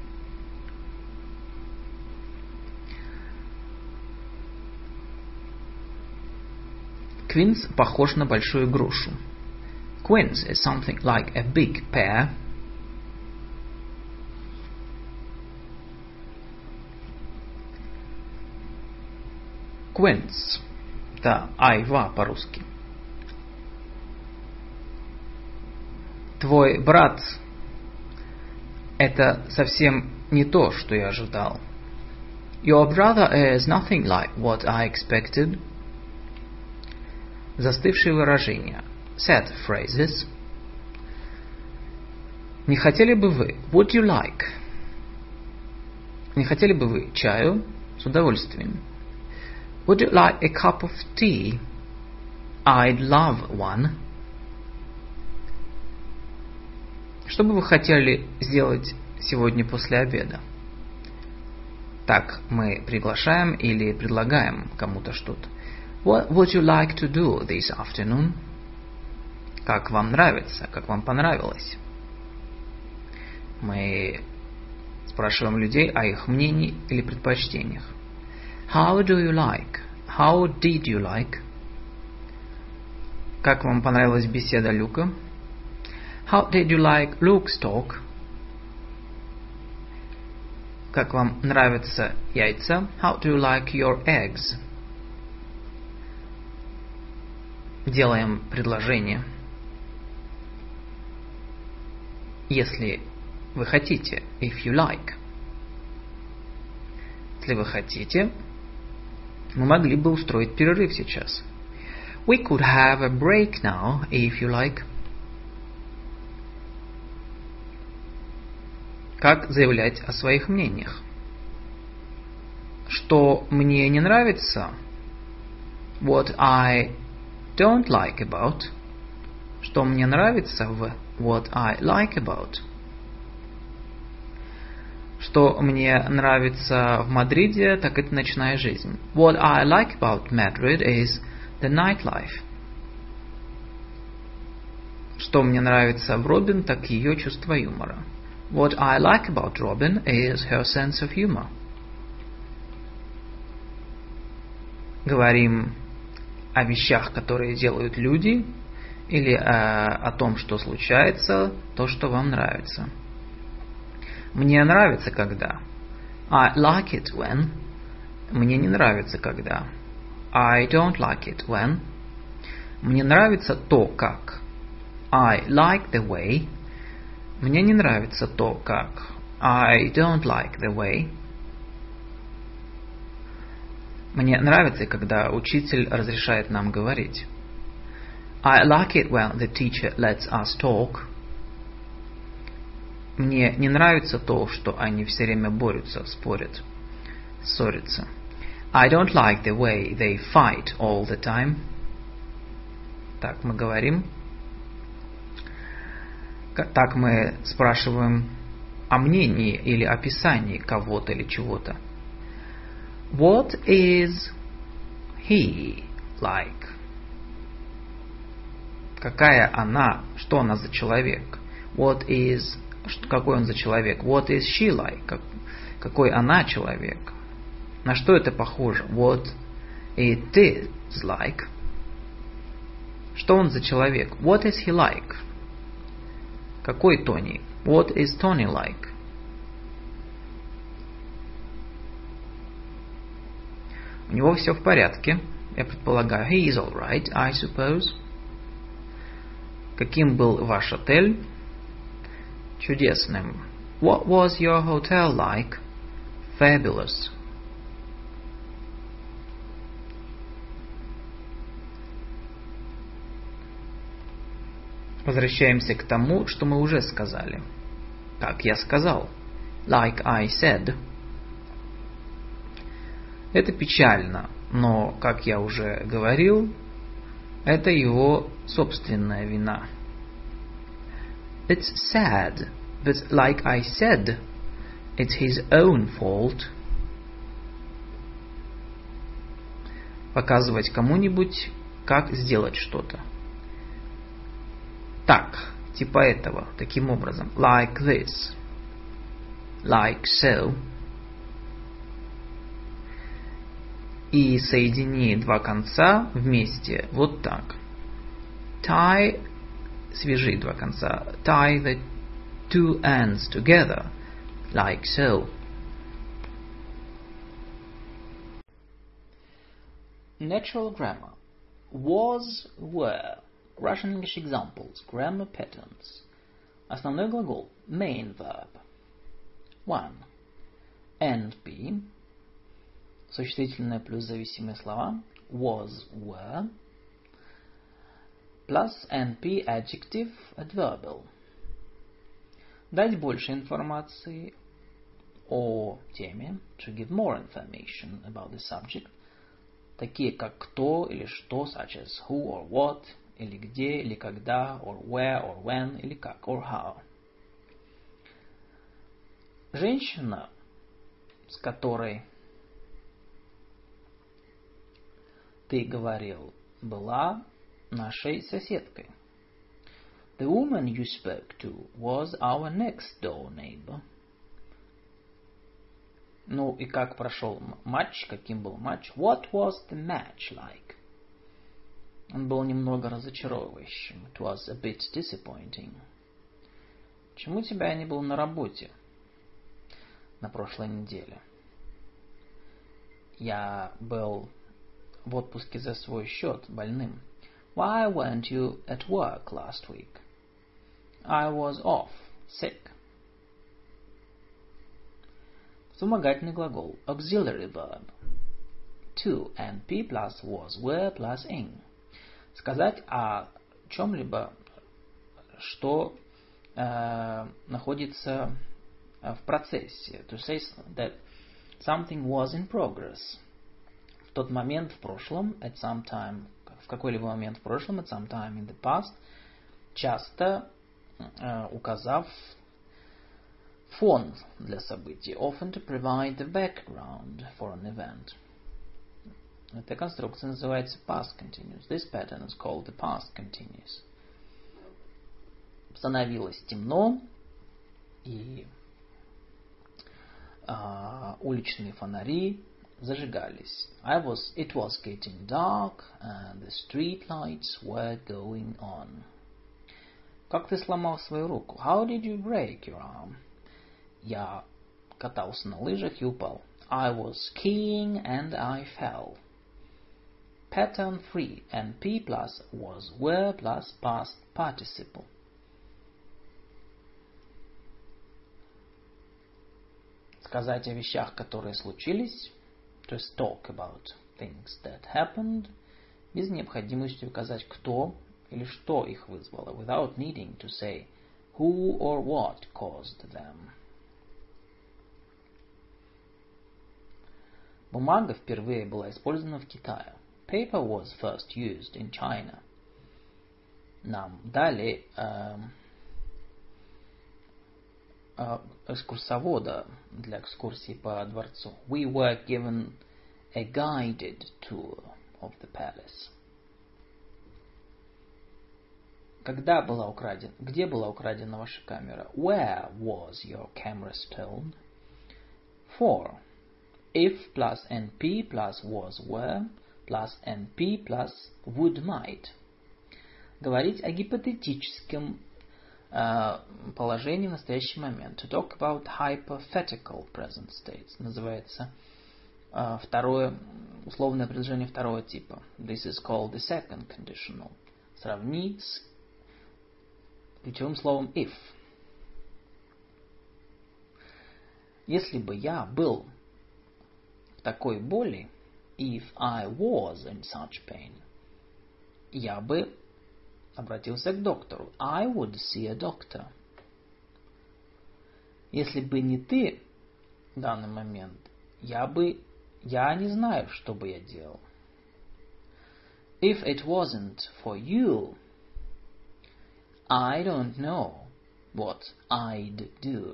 Quince похож на большую грушу. Quince is something like a big pear. Quince. Да, айва по-русски. Твой брат – это совсем не то, что я ожидал. Your brother is nothing like what I expected. Застывшие выражения. Set phrases. Не хотели бы вы? Would you like? Не хотели бы вы чаю? С удовольствием. Would you like a cup of tea? I'd love one. Что бы вы хотели сделать сегодня после обеда? Так мы приглашаем или предлагаем кому-то что-то. What would you like to do this afternoon? Как вам нравится? Как вам понравилось? Мы спрашиваем людей о их мнении или предпочтениях. How do you like? How did you like? Как вам понравилась беседа Люка? How did you like Luke's talk? Как вам нравятся яйца? How do you like your eggs? Делаем предложение. Если вы хотите, if you like. Если вы хотите, мы могли бы устроить перерыв сейчас. We could have a break now, if you like. Как заявлять о своих мнениях? Что мне не нравится? What I don't like about. Что мне нравится в what I like about. Что мне нравится в Мадриде, так это ночная жизнь. What I like about Madrid is the nightlife. Что мне нравится в Робин, так ее чувство юмора. What I like about Robin is her sense of humor. Говорим о вещах, которые делают люди, или о, о том, что случается, то, что вам нравится. Мне нравится, когда. I like it when. Мне не нравится, когда. I don't like it when. Мне нравится то, как. I like the way. Мне не нравится то, как. I don't like the way. Мне нравится, когда учитель разрешает нам говорить. I like it when the teacher lets us talk. Мне не нравится то, что они все время борются, спорят, ссорятся. I don't like the way they fight all the time. Так мы говорим. Так мы спрашиваем о мнении или описании кого-то или чего-то. What is he like? Какая она, что она за человек? What is, какой он за человек? What is she like? Как, какой она человек? На что это похоже? What it is like? Что он за человек? What is he like? Какой Тони? What is Tony like? У него все в порядке. Я предполагаю. He is all right, I suppose. Каким был ваш отель? Чудесным. What was your hotel like? Fabulous. Возвращаемся к тому, что мы уже сказали. Как я сказал. Like I said. Это печально. Но, как я уже говорил, это его собственная вина. It's sad, but like I said, it's his own fault. Показывать кому-нибудь, как сделать что-то. Так, типа этого, таким образом. Like this. Like so. И соедини два конца вместе вот так. Tie, свяжи два конца. Tie the two ends together, like so. Natural grammar. Was, were. Russian English examples. Grammar patterns. Основной глагол. Main verb. One. N P. Существительное плюс зависимые слова. Was, were. Plus N P adjective adverbial. Дать больше информации о теме. To give more information about the subject. Такие как кто или что, such as who or what, или где, или когда, or where, or when, или как, or how. Женщина, с которой ты говорил, была нашей соседкой. The woman you spoke to was our next door neighbor. Ну и как прошел матч, каким был матч? What was the match like? Он был немного разочаровывающим. It was a bit disappointing. Почему тебя не было на работе на прошлой неделе? Я был в отпуске за свой счет, больным. Why weren't you at work last week? I was off, sick. Вспомогательный глагол. Auxiliary verb. To and P plus was, were plus ing. Сказать о чем-либо, что э, находится в процессе. To say that something was in progress. В тот момент в прошлом, at some time, в какой-либо момент в прошлом, at some time in the past, часто э, указав фон для событий, often to provide the background for an event. Эта конструкция называется past continuous. This pattern is called the past continuous. Становилось темно, и uh, уличные фонари зажигались. I was, it was getting dark, and the street lights were going on. Как ты сломал свою руку? How did you break your arm? Я катался на лыжах и упал. I was skiing and I fell. Pattern three. N P plus was, were plus past participle. Сказать о вещах, которые случились. Just talk about things that happened. Без необходимости указать, кто или что их вызвало. Without needing to say who or what caused them. Бумага впервые была использована в Китае. Paper was first used in China. Нам дали э, э, экскурсовода для экскурсии по дворцу. We were given a guided tour of the palace. Когда была украдена? Где была украдена ваша камера? Where was your camera stolen? Four. If plus N P plus was, were plus N P plus would, might. Говорить о гипотетическом э, положении в настоящий момент. To talk about hypothetical present states. Называется э, второе, условное предложение второго типа. This is called the second conditional. Сравни с ключевым словом if. Если бы я был в такой боли, if I was in such pain, я бы обратился к доктору. I would see a doctor. Если бы не ты в данный момент, я бы Я не знаю, что бы я делал. If it wasn't for you, I don't know what I'd do.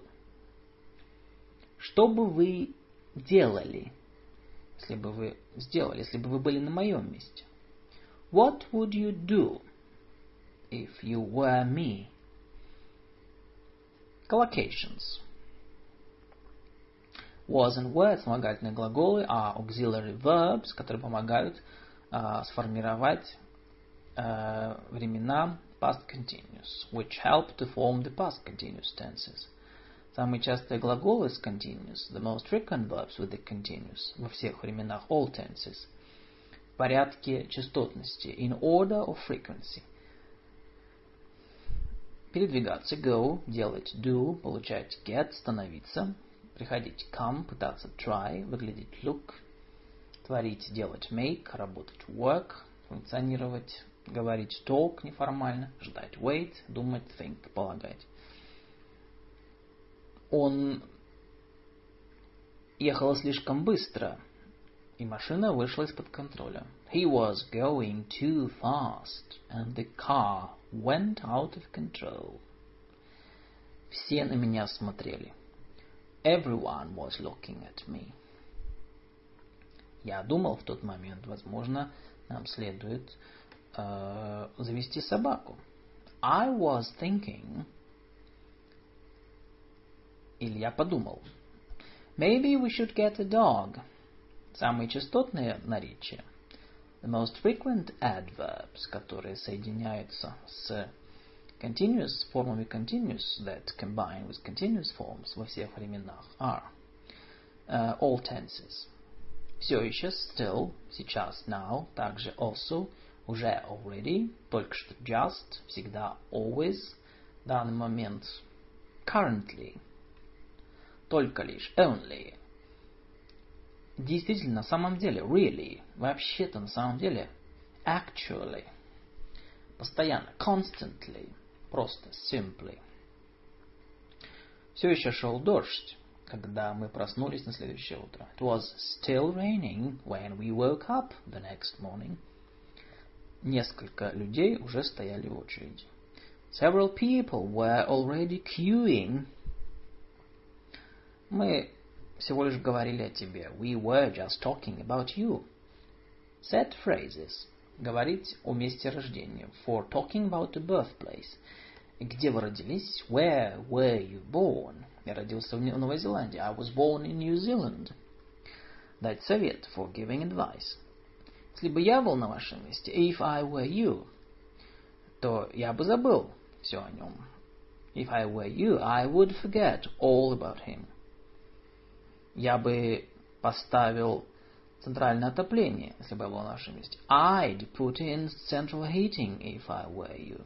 Что бы вы делали, если бы вы сделали, если бы вы были на моем месте? What would you do if you were me? Collocations. Was and were – вспомогательные глаголы, а auxiliary verbs, которые помогают uh, сформировать uh, времена past continuous, which help to form the past continuous tenses. Самые частые глаголы с continuous, the most frequent verbs with the continuous, во всех временах, all tenses, в порядке частотности, in order of frequency. Передвигаться, go, делать, do, получать, get, становиться, приходить, come, пытаться, try, выглядеть, look, творить, делать, make, работать, work, функционировать, говорить, talk, неформально, ждать, wait, думать, think, полагать. Он ехал слишком быстро, и машина вышла из-под контроля. He was going too fast, and the car went out of control. Все на меня смотрели. Everyone was looking at me. Я думал в тот момент, возможно, нам следует э, завести собаку. I was thinking... Или я подумал. Maybe we should get a dog. Самые частотные наречия. The most frequent adverbs, которые соединяются с continuous, формами continuous that combine with continuous forms во всех временах are uh, all tenses. Все еще, still, сейчас, now, также also, уже, already, только что, just, всегда, always, данный момент, currently, только лишь, only. Действительно, на самом деле, really, вообще-то, на самом деле, actually, постоянно, constantly, просто, simply. Все еще шел дождь, когда мы проснулись на следующее утро. It was still raining when we woke up the next morning. Несколько людей уже стояли в очереди. Several people were already queuing. Мы всего лишь говорили о тебе. We were just talking about you. Set phrases. Говорить о месте рождения. For talking about a birthplace. Где вы родились? Where were you born? Я родился в Новой Зеландии. I was born in New Zealand. Дать совет. For giving advice. Если бы я был на вашем месте, if I were you, то я бы забыл все о нем. If I were you, I would forget all about him. Я бы поставил центральное отопление, если бы я был на вашем месте. I'd put in central heating if I were you.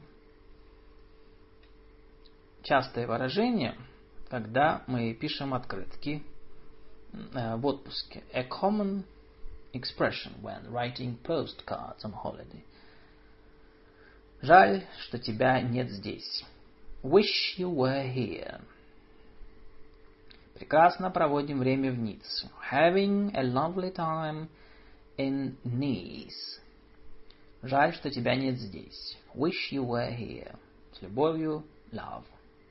Частое выражение, когда мы пишем открытки э, в отпуске. A common expression when writing postcards on holiday. Жаль, что тебя нет здесь. Wish you were here. Прекрасно проводим время в Ницце. Having a lovely time in Nice. Жаль, что тебя нет здесь. Wish you were here. С любовью, love.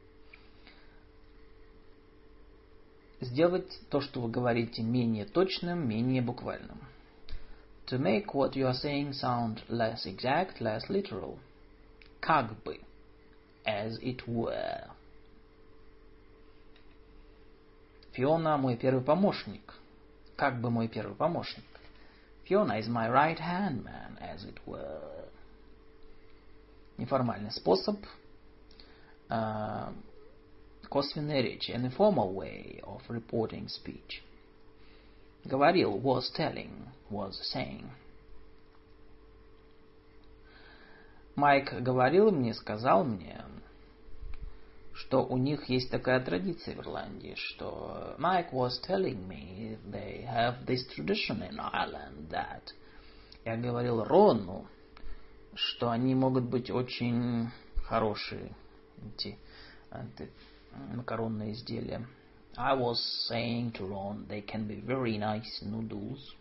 Сделать то, что вы говорите, менее точным, менее буквальным. To make what you are saying sound less exact, less literal. Как бы. As it were. Фиона мой первый помощник. Как бы мой первый помощник. Fiona is my right hand man, as it were. Неформальный способ. Uh, косвенная речь. An informal way of reporting speech. Говорил, was telling, was saying. Майк говорил мне, сказал мне, что у них есть такая традиция в Ирландии, что Mike was telling me they have this tradition in Ireland that... Я говорил Рону, что они могут быть очень хорошие, эти, эти макаронные изделия. I was saying to Ron, they can be very nice noodles.